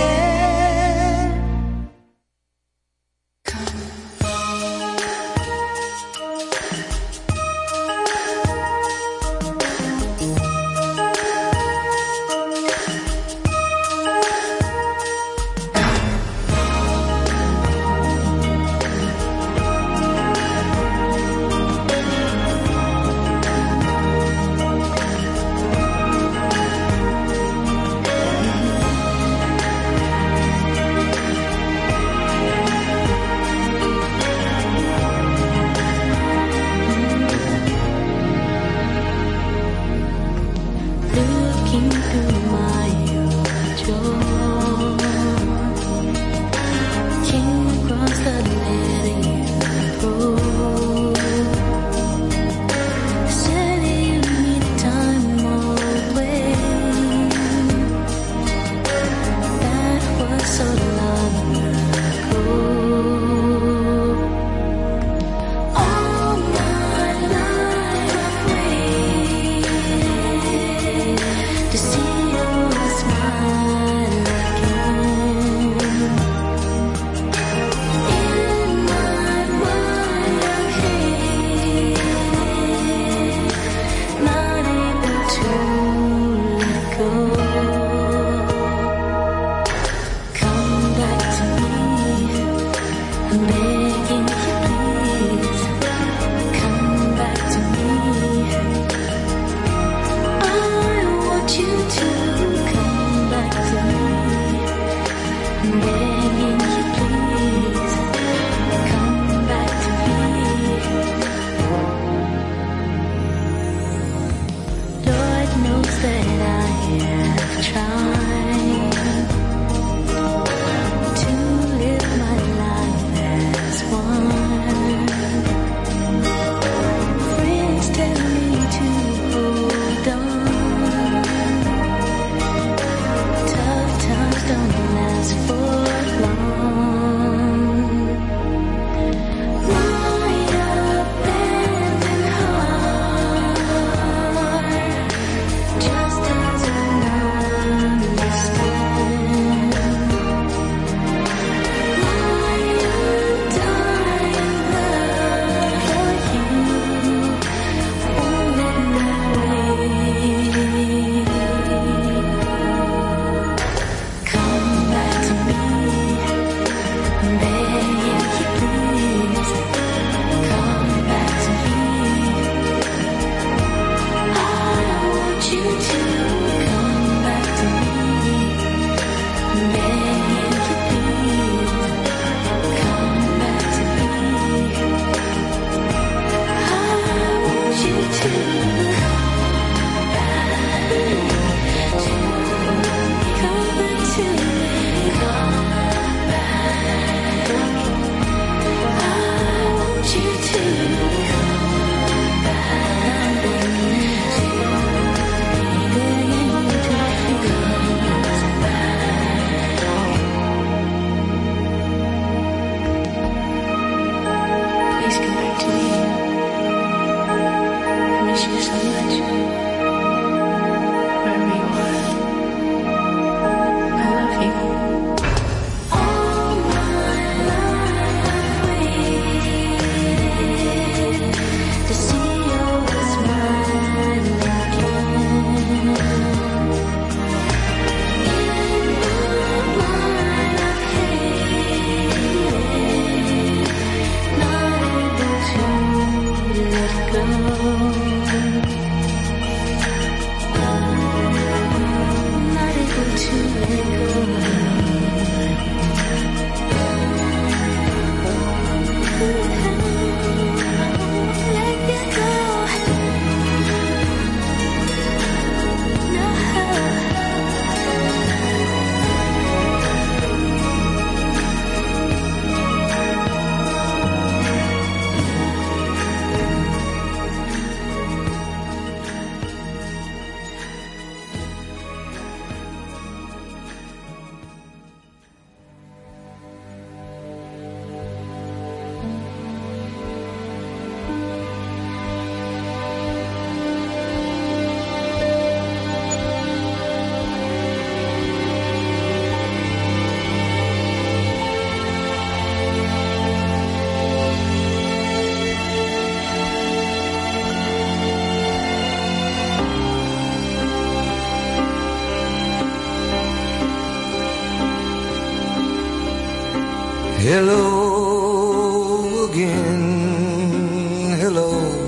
Hello again, hello.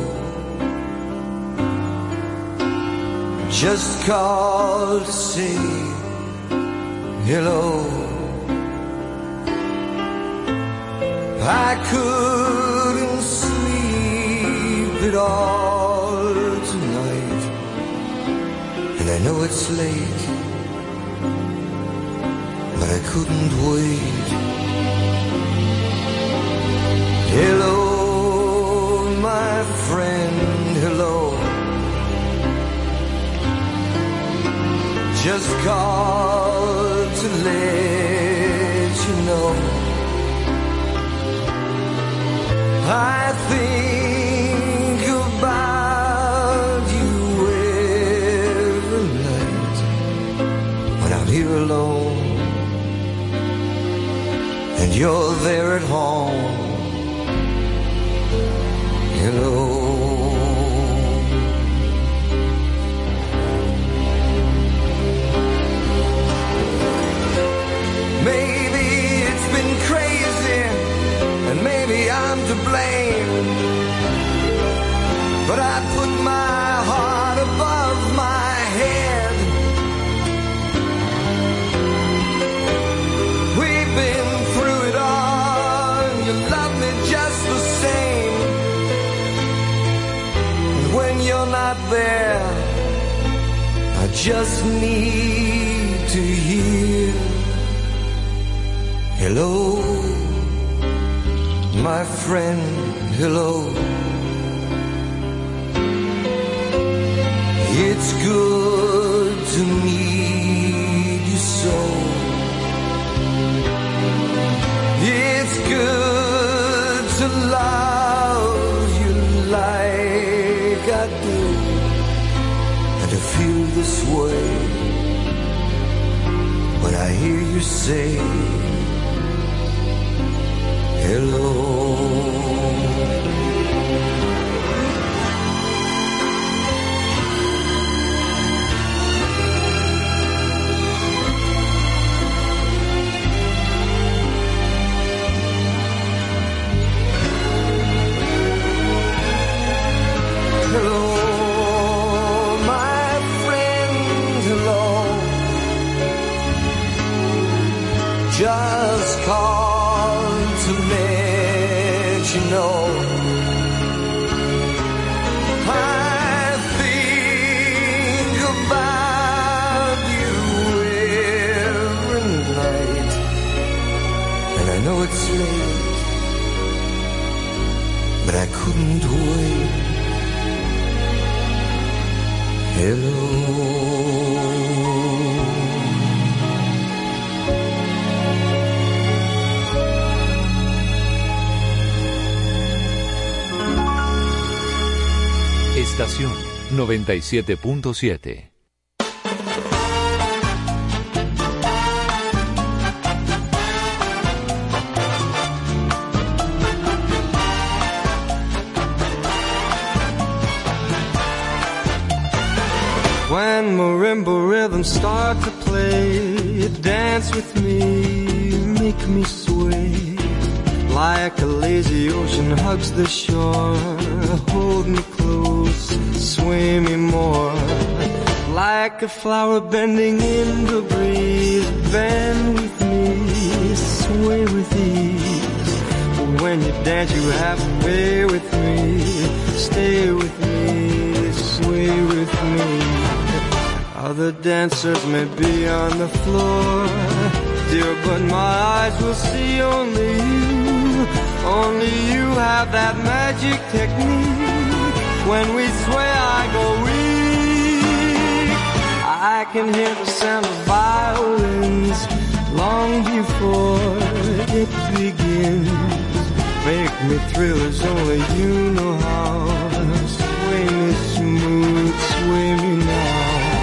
Just called to say hello. I couldn't sleep at all tonight, and I know it's late, but I couldn't wait. Hello, my friend, hello. Just called to let you know I think about you every night when I'm here alone and you're there at home. Hello. Maybe it's been crazy, and maybe I'm to blame, but I put my heart above my head. We've been through it all, and you love me just the same. When you're not there, I just need to hear hello, my friend, hello. It's good to meet you so. It's good to love you like I do, and to feel this way when I hear you say hello. Hello, my friend, hello. Just call to let you know I think about you every night, and I know it's late, but I couldn't wait. Hello. Estación noventa y siete punto siete. When marimba rhythms start to play, dance with me, make me sway Like a lazy ocean hugs the shore, hold me close, sway me more. Like a flower bending in the breeze, bend with me, sway with ease. When you dance you have a way with me, stay with me, sway with me. Other dancers may be on the floor, dear, but my eyes will see only you. Only you have that magic technique. When we sway I go weak. I can hear the sound of violins long before it begins. Make me thrill as only you know how. Sway me smooth, sway me now.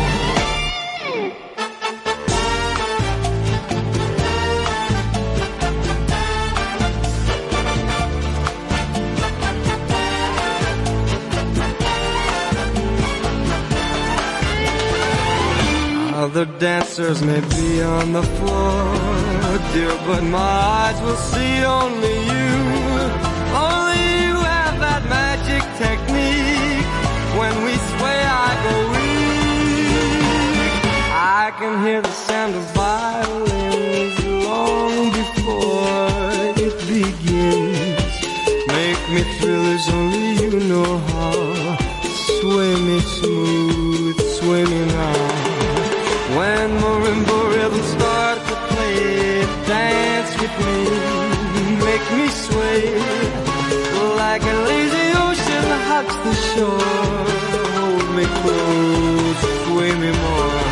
Other dancers may be on the floor, dear, but my eyes will see only you. Only you have that magic technique. When we sway I go weak. I can hear the sound of violins long before it begins. Make me thrill as only you know how. Sway me smooth, sway me now. When marimba rhythms start to play, dance with me, make me sway. Like a lazy ocean hugs the shore, hold me close, sway me more.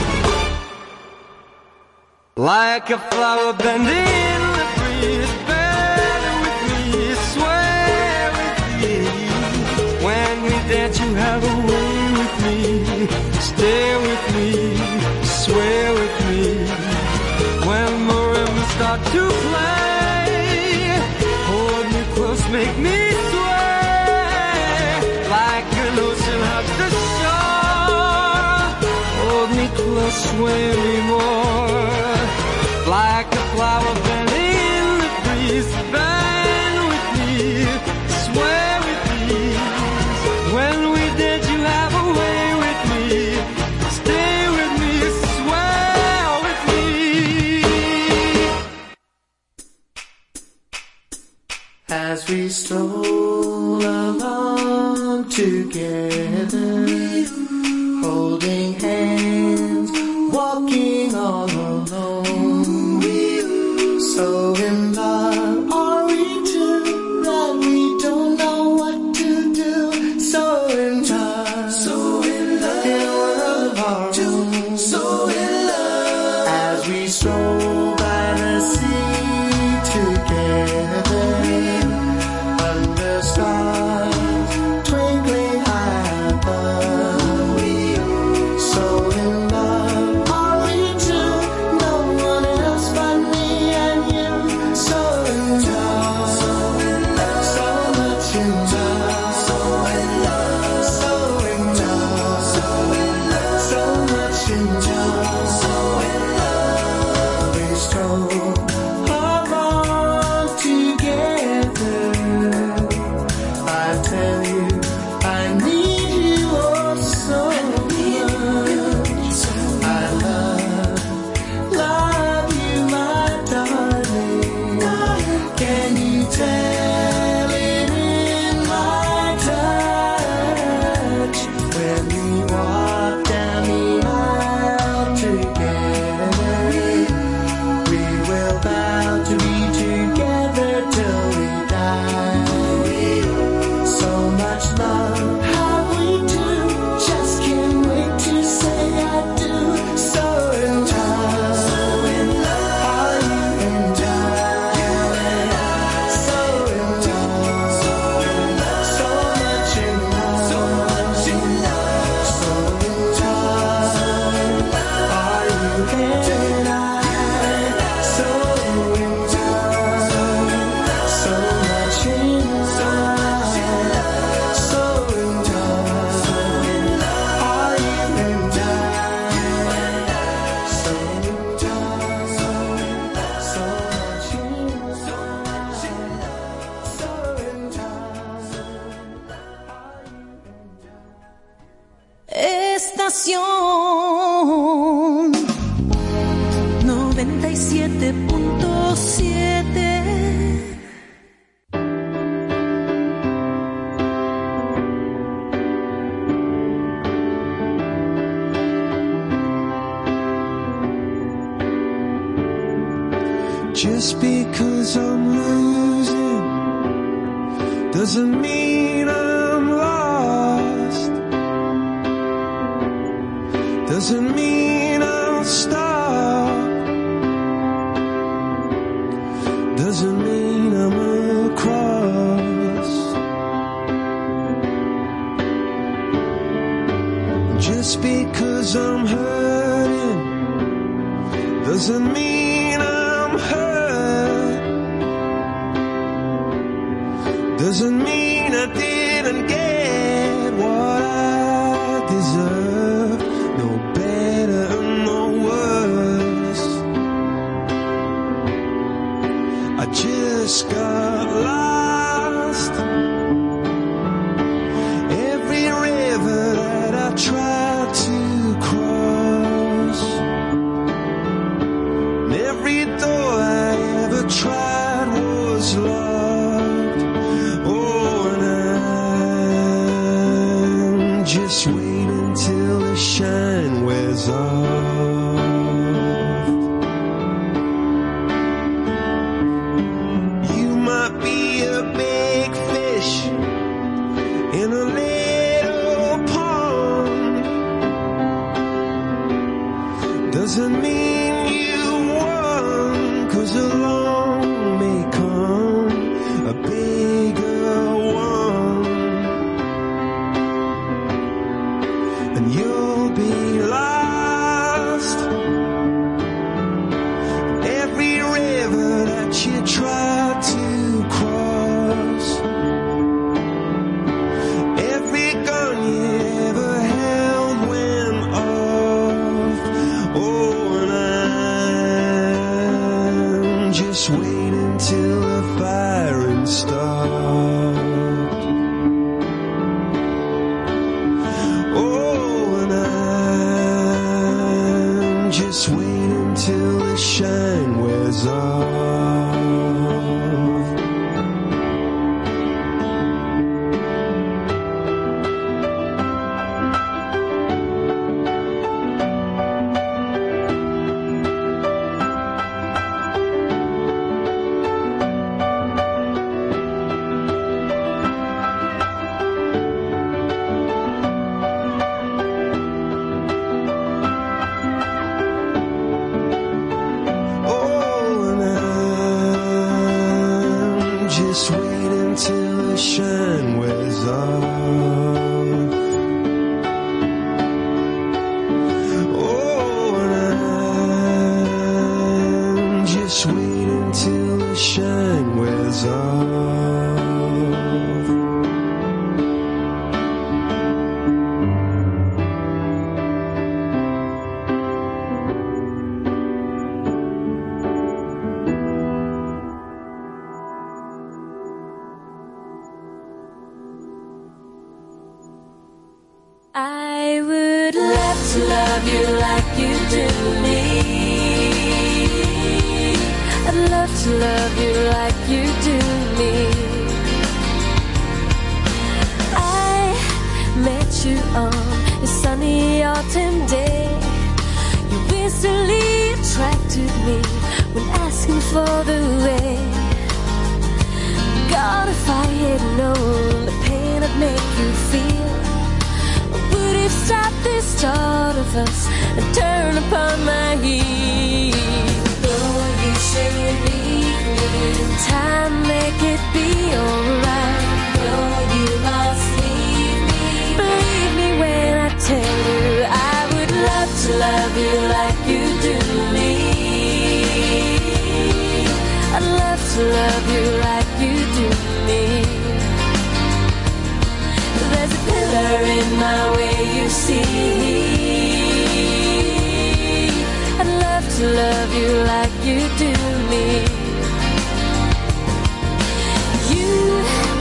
Like a flower bending in the breeze, bend with me, sway with me. When we dance you have a way with me, stay with me, sway with me. When marimbas start to play, hold me close, make me sway. Like an ocean hugs the shore, hold me close, sway me more. Like a flower bending in the breeze, bend with me, sway with me. When we dance you have a way with me, stay with me, sway with me. As we stroll along together, holding hands, walking all alone. So in love are we two that we don't know what to do. So in love, so in love, in a world of our own. So in love, as we stroll by the sea together, under stars twinkling high above. So in love are we two, no one else but me and you. So in love, so in love, so much in love, so in love, so estación noventa y siete punto siete. Just because I'm losing doesn't mean I'm lost. Doesn't mean I'll stop. Doesn't mean I'm across. Just because I'm hurting doesn't mean I'm hurt. Doesn't mean I didn't get what I deserve. No better, no worse. I just got lost. Every river that I tried to cross, and every door I ever tried was locked. Oh, and I'm just waiting till the shine wears off. You might be a big fish in a little pond. Doesn't mean you won, 'cause along may come a bigger one, and you'll be lost. Every river that you tried to cross, every gun you ever held went off. Oh, and I'm just waiting till the firing stopped. Oh, and I'm just waiting till the shine wears off. Oh, and I'm just waiting till the shine wears off. Oh, and I'm just waiting till the shine wears off. I would love to love you like you do me. I'd love to love you like you do me. I met you on a sunny autumn day. You instantly attracted me when asking for the way. God, if I had known the pain I'd make you feel, would have stopped the start of us and turn upon my heel. Though you say you need me, time make it be alright. Though you must leave me, believe me when I tell you I would love to love you like you do me. I'd love to love you like you do me. There's a pillar in my way, you see. I'd love to love you like you do me. You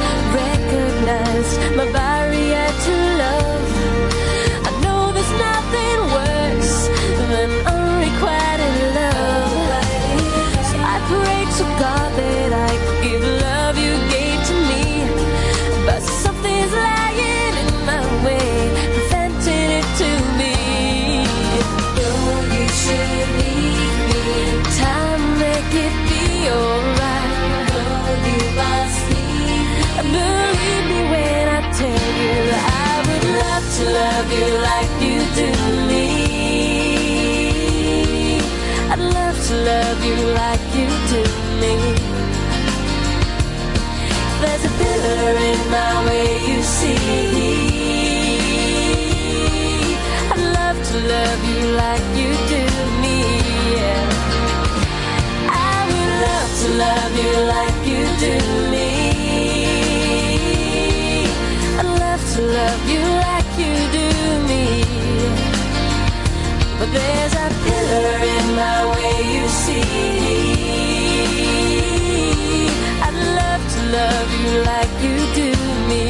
recognized my barrier to love. I know there's nothing love you like you do me. There's a pillar in my way, you see. I'd love to love you like you do me, yeah. I would love to love you like you do me. I'd love to love you like you do me. But there's a pillar in my way, you see. I'd love to love you like you do me.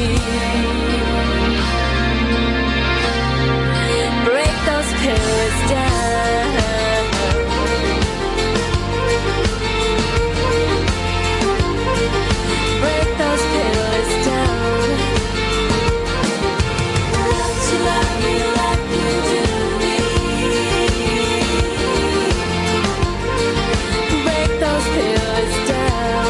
Break those pillars down. Break those pillars down. I'd love to love you like you do me. Break those pillars down.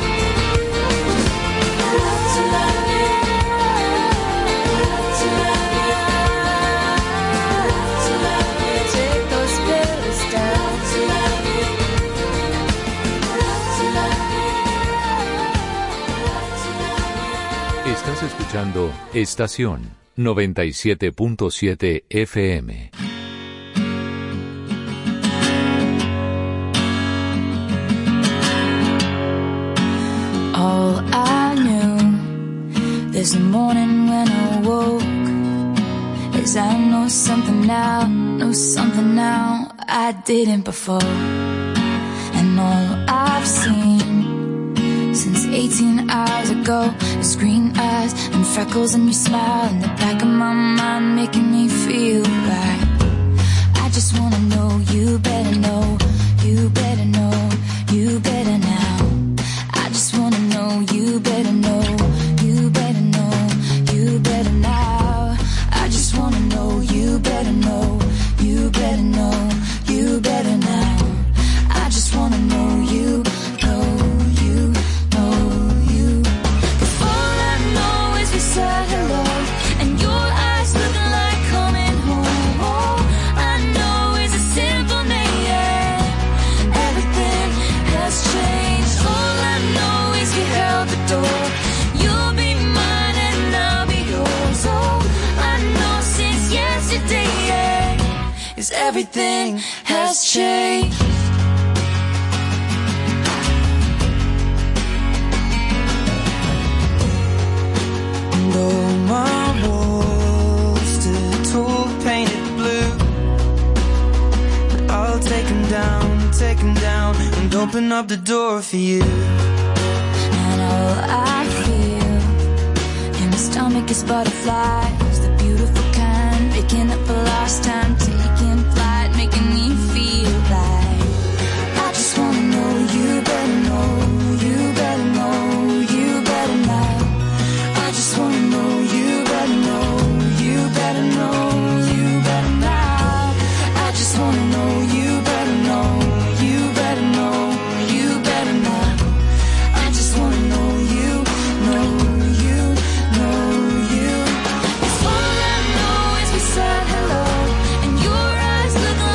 I'd love to love you. I'd love to love you. I'd love to love you. Take those pillars down. To love you. I'd love to love you. Estás escuchando Estación noventa y siete punto siete F M. All I knew this morning when I woke is I know something now, know something now I didn't before. And all I've seen since eighteen hours ago is green eyes and freckles and your smile in the back of my mind making me feel right. I just wanna know you better know, you better know, you better now. I just wanna know you better know, you better know, you better now. I just wanna know you better know, you better know, you better now. I just wanna know you, know you, know you. If all I know is we said hello and your eyes looking like coming home. All I know is a simple name. Everything has changed. All I know is we held the door. You'll be mine and I'll be yours. All I know since yesterday is everything has changed. And all my walls stood tall, painted blue. But I'll take them down, take them down, and open up the door for you. And all I feel in my stomach is butterflies, the beautiful kind, making up for lost time, taking flight, making me feel like I just wanna know you better know, you better know, you better now. I just wanna know you better know, you better know, you better now. I just wanna know you better know, you better know, you better now. I just wanna know you, know you, know you. If all I know is we said hello and your eyes look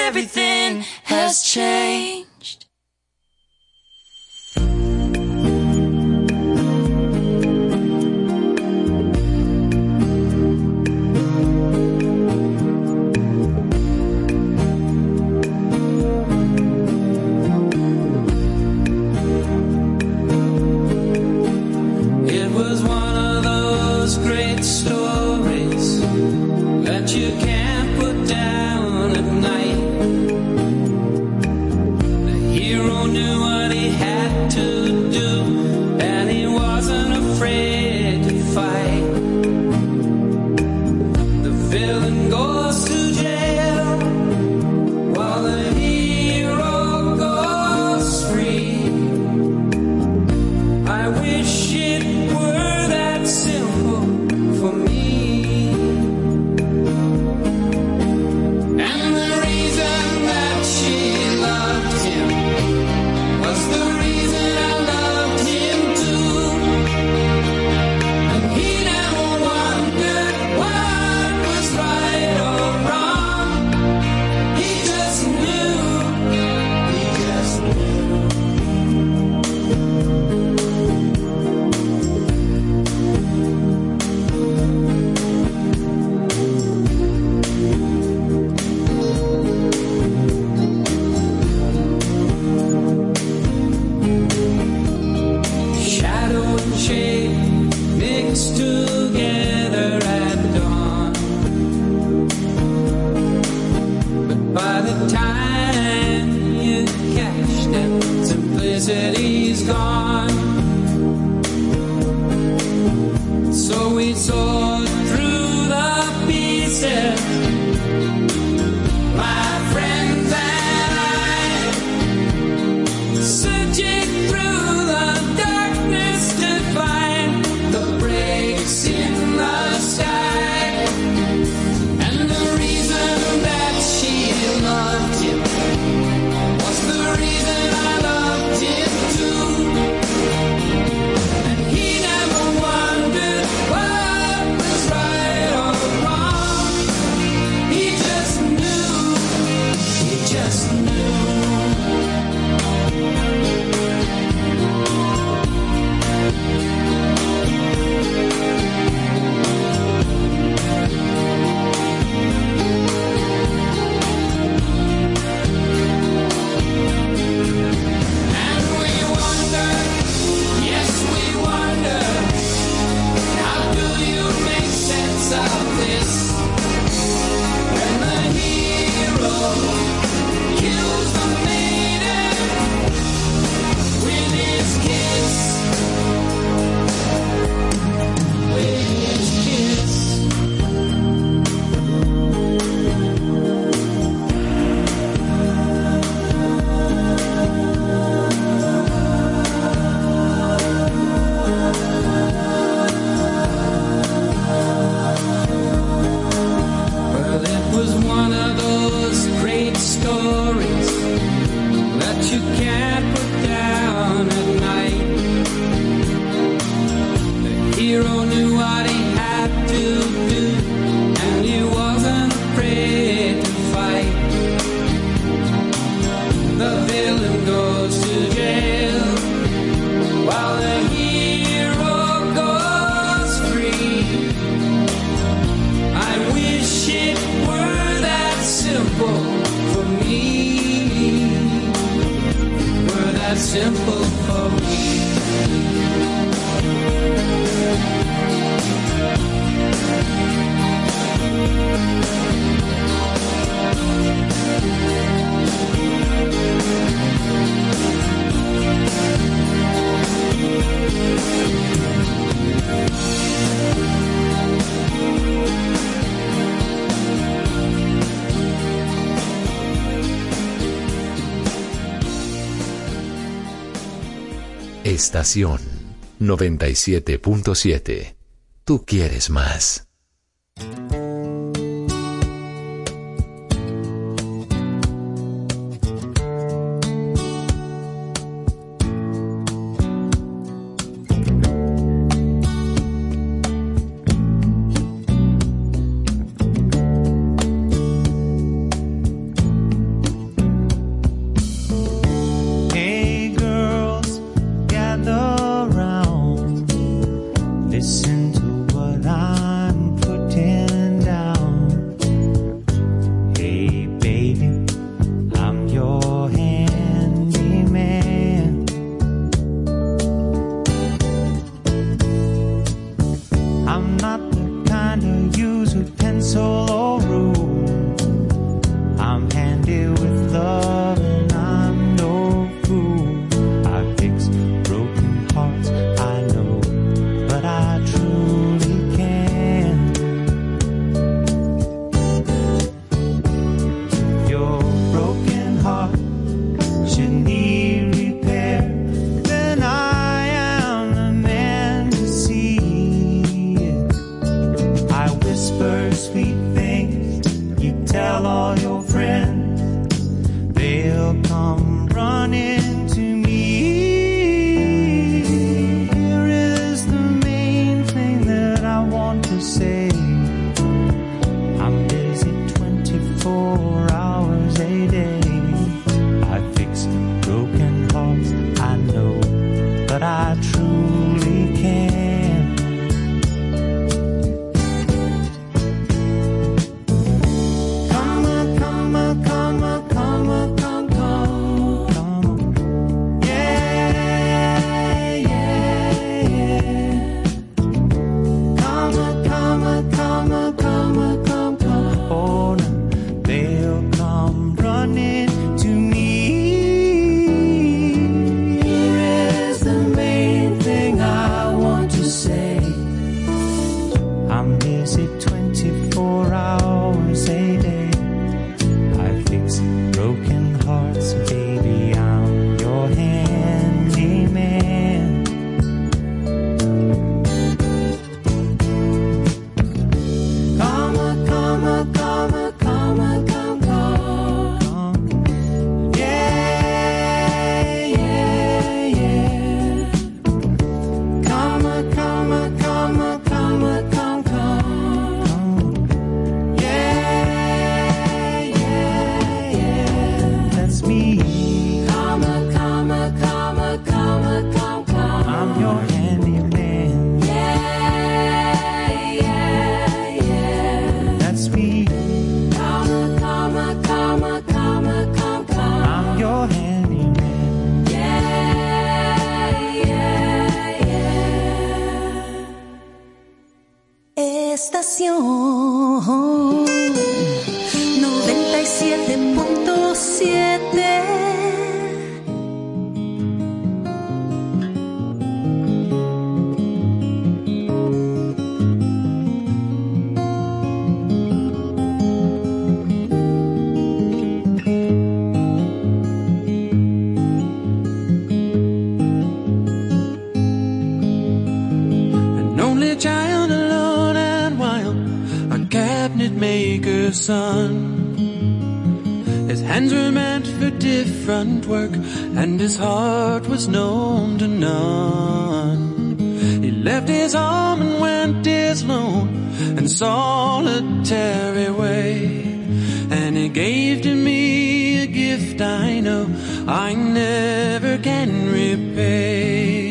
everything has changed. It was one of those great stories that you can't put down at night. The hero knew what he had to do, and he wasn't afraid to fight. The villain goes to jail while the hero goes free. I wish it were that simple for me. And the reason that she loved him was the reason I loved him too. And he never wondered what was right or wrong. He just knew, he just knew. Shadow and shade mixed together at dawn. But by the time you catch them, simplicity's gone. So we soared through the pieces, my friends and I, searching through the darkness to find the breaks in the sky. And the reason that she loved him was the reason I loved him too. And he never wondered what was right or wrong. He just knew, he just knew. And we wonder, yes we wonder, how do you make sense of this? When the hero kills the maiden with his kiss, with his kiss. Well, it was one of those great stories that you can't put down at night. The hero knew what he had to do, and he wasn't afraid to fight. The villain goes to jail while the hero goes free. I wish it were that simple for me, were that simple for me. Estación noventa y siete punto siete. Tú quieres más. running to me. Here is the main thing I want to say. I'm busy twenty-four hours a day. I fix broken hearts, baby, I'm your handyman. Comma, comma, comma, comma, come, come. Yeah, yeah, yeah. Comma, comma, comma, comma, come, come. Yeah, yeah, yeah. That's me. Comma, comma, comma, comma, come, come. I'm your handyman. Yeah, yeah, yeah. That's me. Comma, comma, comma, comma, come, come. I'm your handyman. Yeah, yeah, yeah. Estación noventa y siete punto siete. An only child alone and wild, a cabinet maker's son. His hands were meant for different work, and his heart was known to none. He left his home and went his lone and solitary way, and he gave to me a gift I know I never can repay.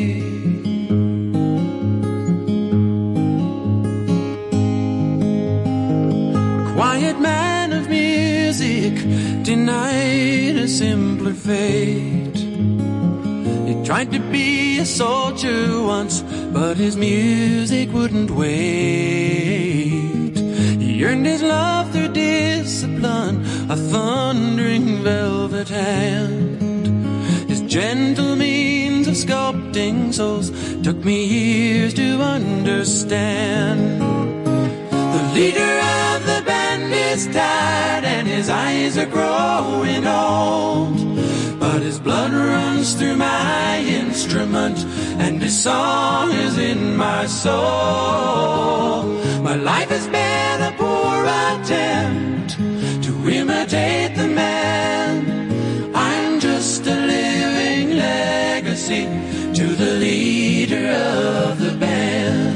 Quiet man of music, denied a simpler fate. He tried to be a soldier once, but his music wouldn't wait. He earned his love through discipline, a thundering velvet hand. His gentle means of sculpting souls took me years to understand. The leader of the band is tired and his eyes are growing old, but his blood runs through my instrument and his song is in my soul. My life has been a poor attempt to imitate the man. I'm just a living legacy to the leader of the band.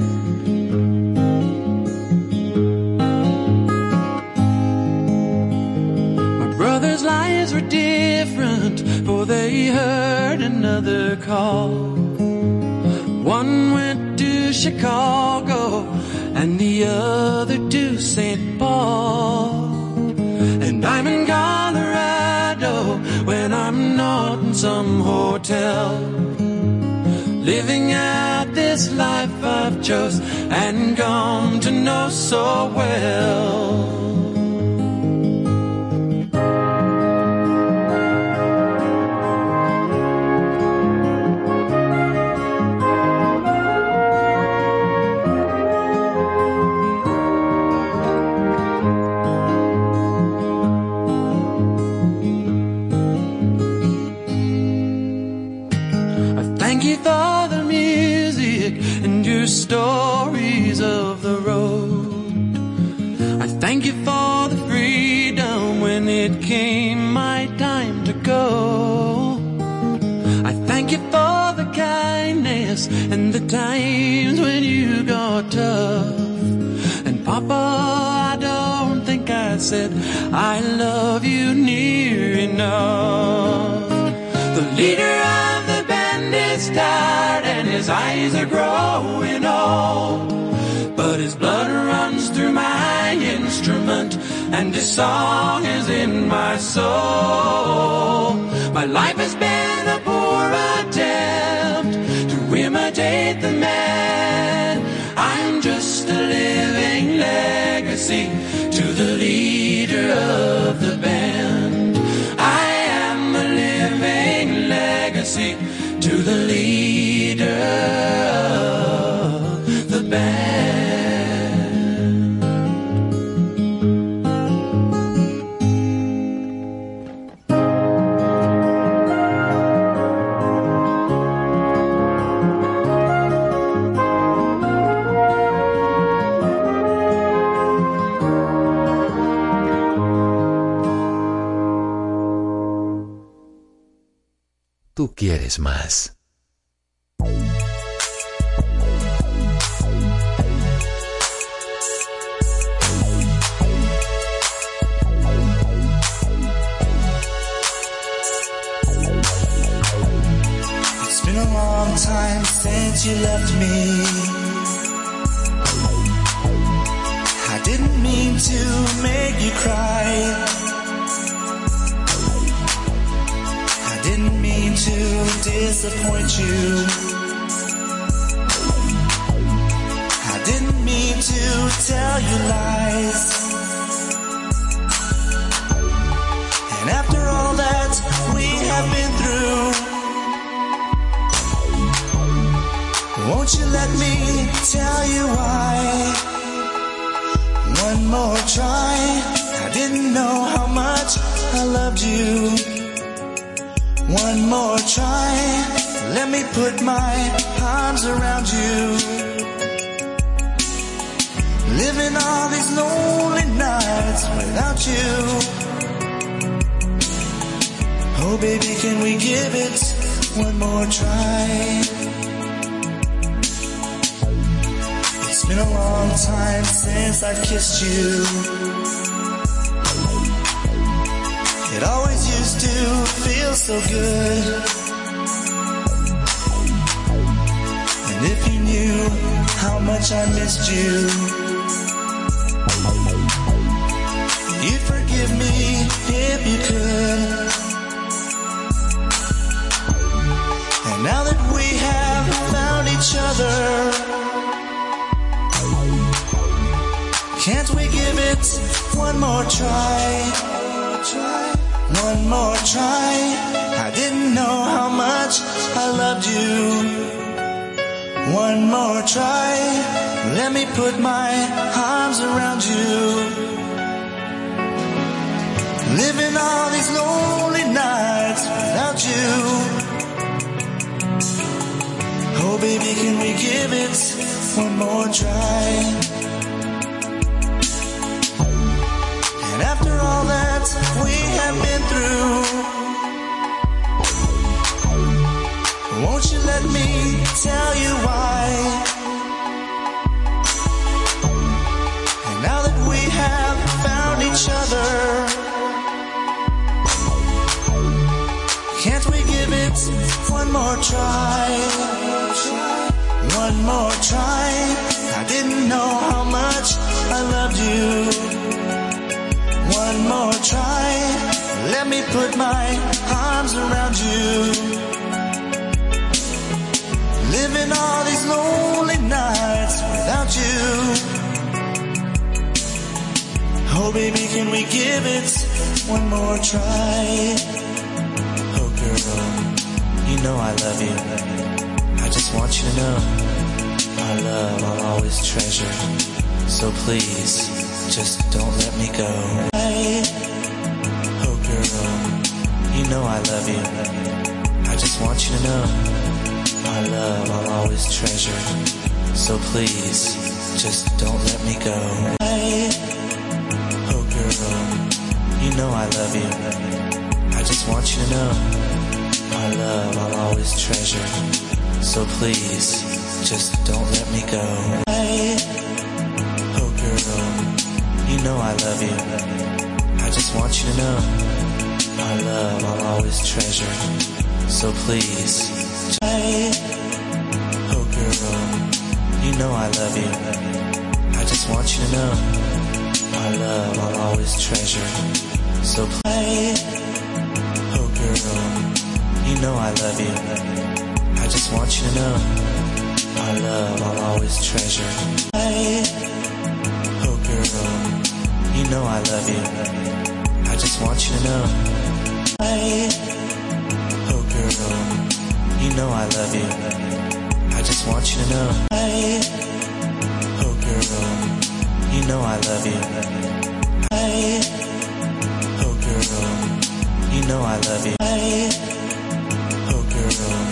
Brothers' lives were different, for they heard another call. One went to Chicago and the other to Saint Paul. And I'm in Colorado when I'm not in some hotel, living out this life I've chose and come to know so well. Stories of the road. I thank you for the freedom when it came my time to go. I thank you for the kindness and the times when you got tough. And Papa, I don't think I said I love you near enough. The leader of the band is tired and his eyes are growing old, but his blood runs through my instrument and his song is in my soul. My life has been a poor attempt to imitate the man. I'm just a living legacy to the leader of the band. tú quieres más. It's been a long time since you left me. I didn't mean to make you cry. I didn't mean to disappoint you. I didn't mean to tell you lies. And after all that we have been through, won't you let me tell you why? One more try. I didn't know how much I loved you. One more try. Let me put my arms around you. Living all these lonely nights without you. Oh baby, can we give it one more try? It's been a long time since I've kissed you. It always used to feel so good. And if you knew how much I missed you, you'd forgive me if you could. And now that we have found each other, can't we give it one more try? One more try. I didn't know how much I loved you. One more try. Let me put my arms around you. Living all these lonely nights without you. Oh baby, can we give it one more try? And after all that we have been through, won't you let me tell you why? And now that we have found each other, can't we give it one more try? One more try. I didn't know how much I loved you. One more try. Let me put my arms around you. Living all these lonely nights without you. Oh baby, can we give it one more try? Oh girl, you know I love you. I just want you to know our love I'll always treasure. So please, just don't let me go. Oh girl, you know I love you. I just want you to know our love I'll always treasure. So please, just don't let me go. Oh girl, you know I love you. I just want you to know our love I'll always treasure. So please, just don't let me go. Oh girl, you know I love you. I just want you to know our love I'll always treasure. So please, oh girl, you know I love you. I just want you to know our love I'll always treasure. So please, oh girl, you know I love you. I just want you to know our love I'll always treasure. Oh girl, you know I love you. I just want you to know. Oh girl, you know I love you. I just want you to know. Oh girl, you know I love you. Oh girl, you know I love you. Oh girl.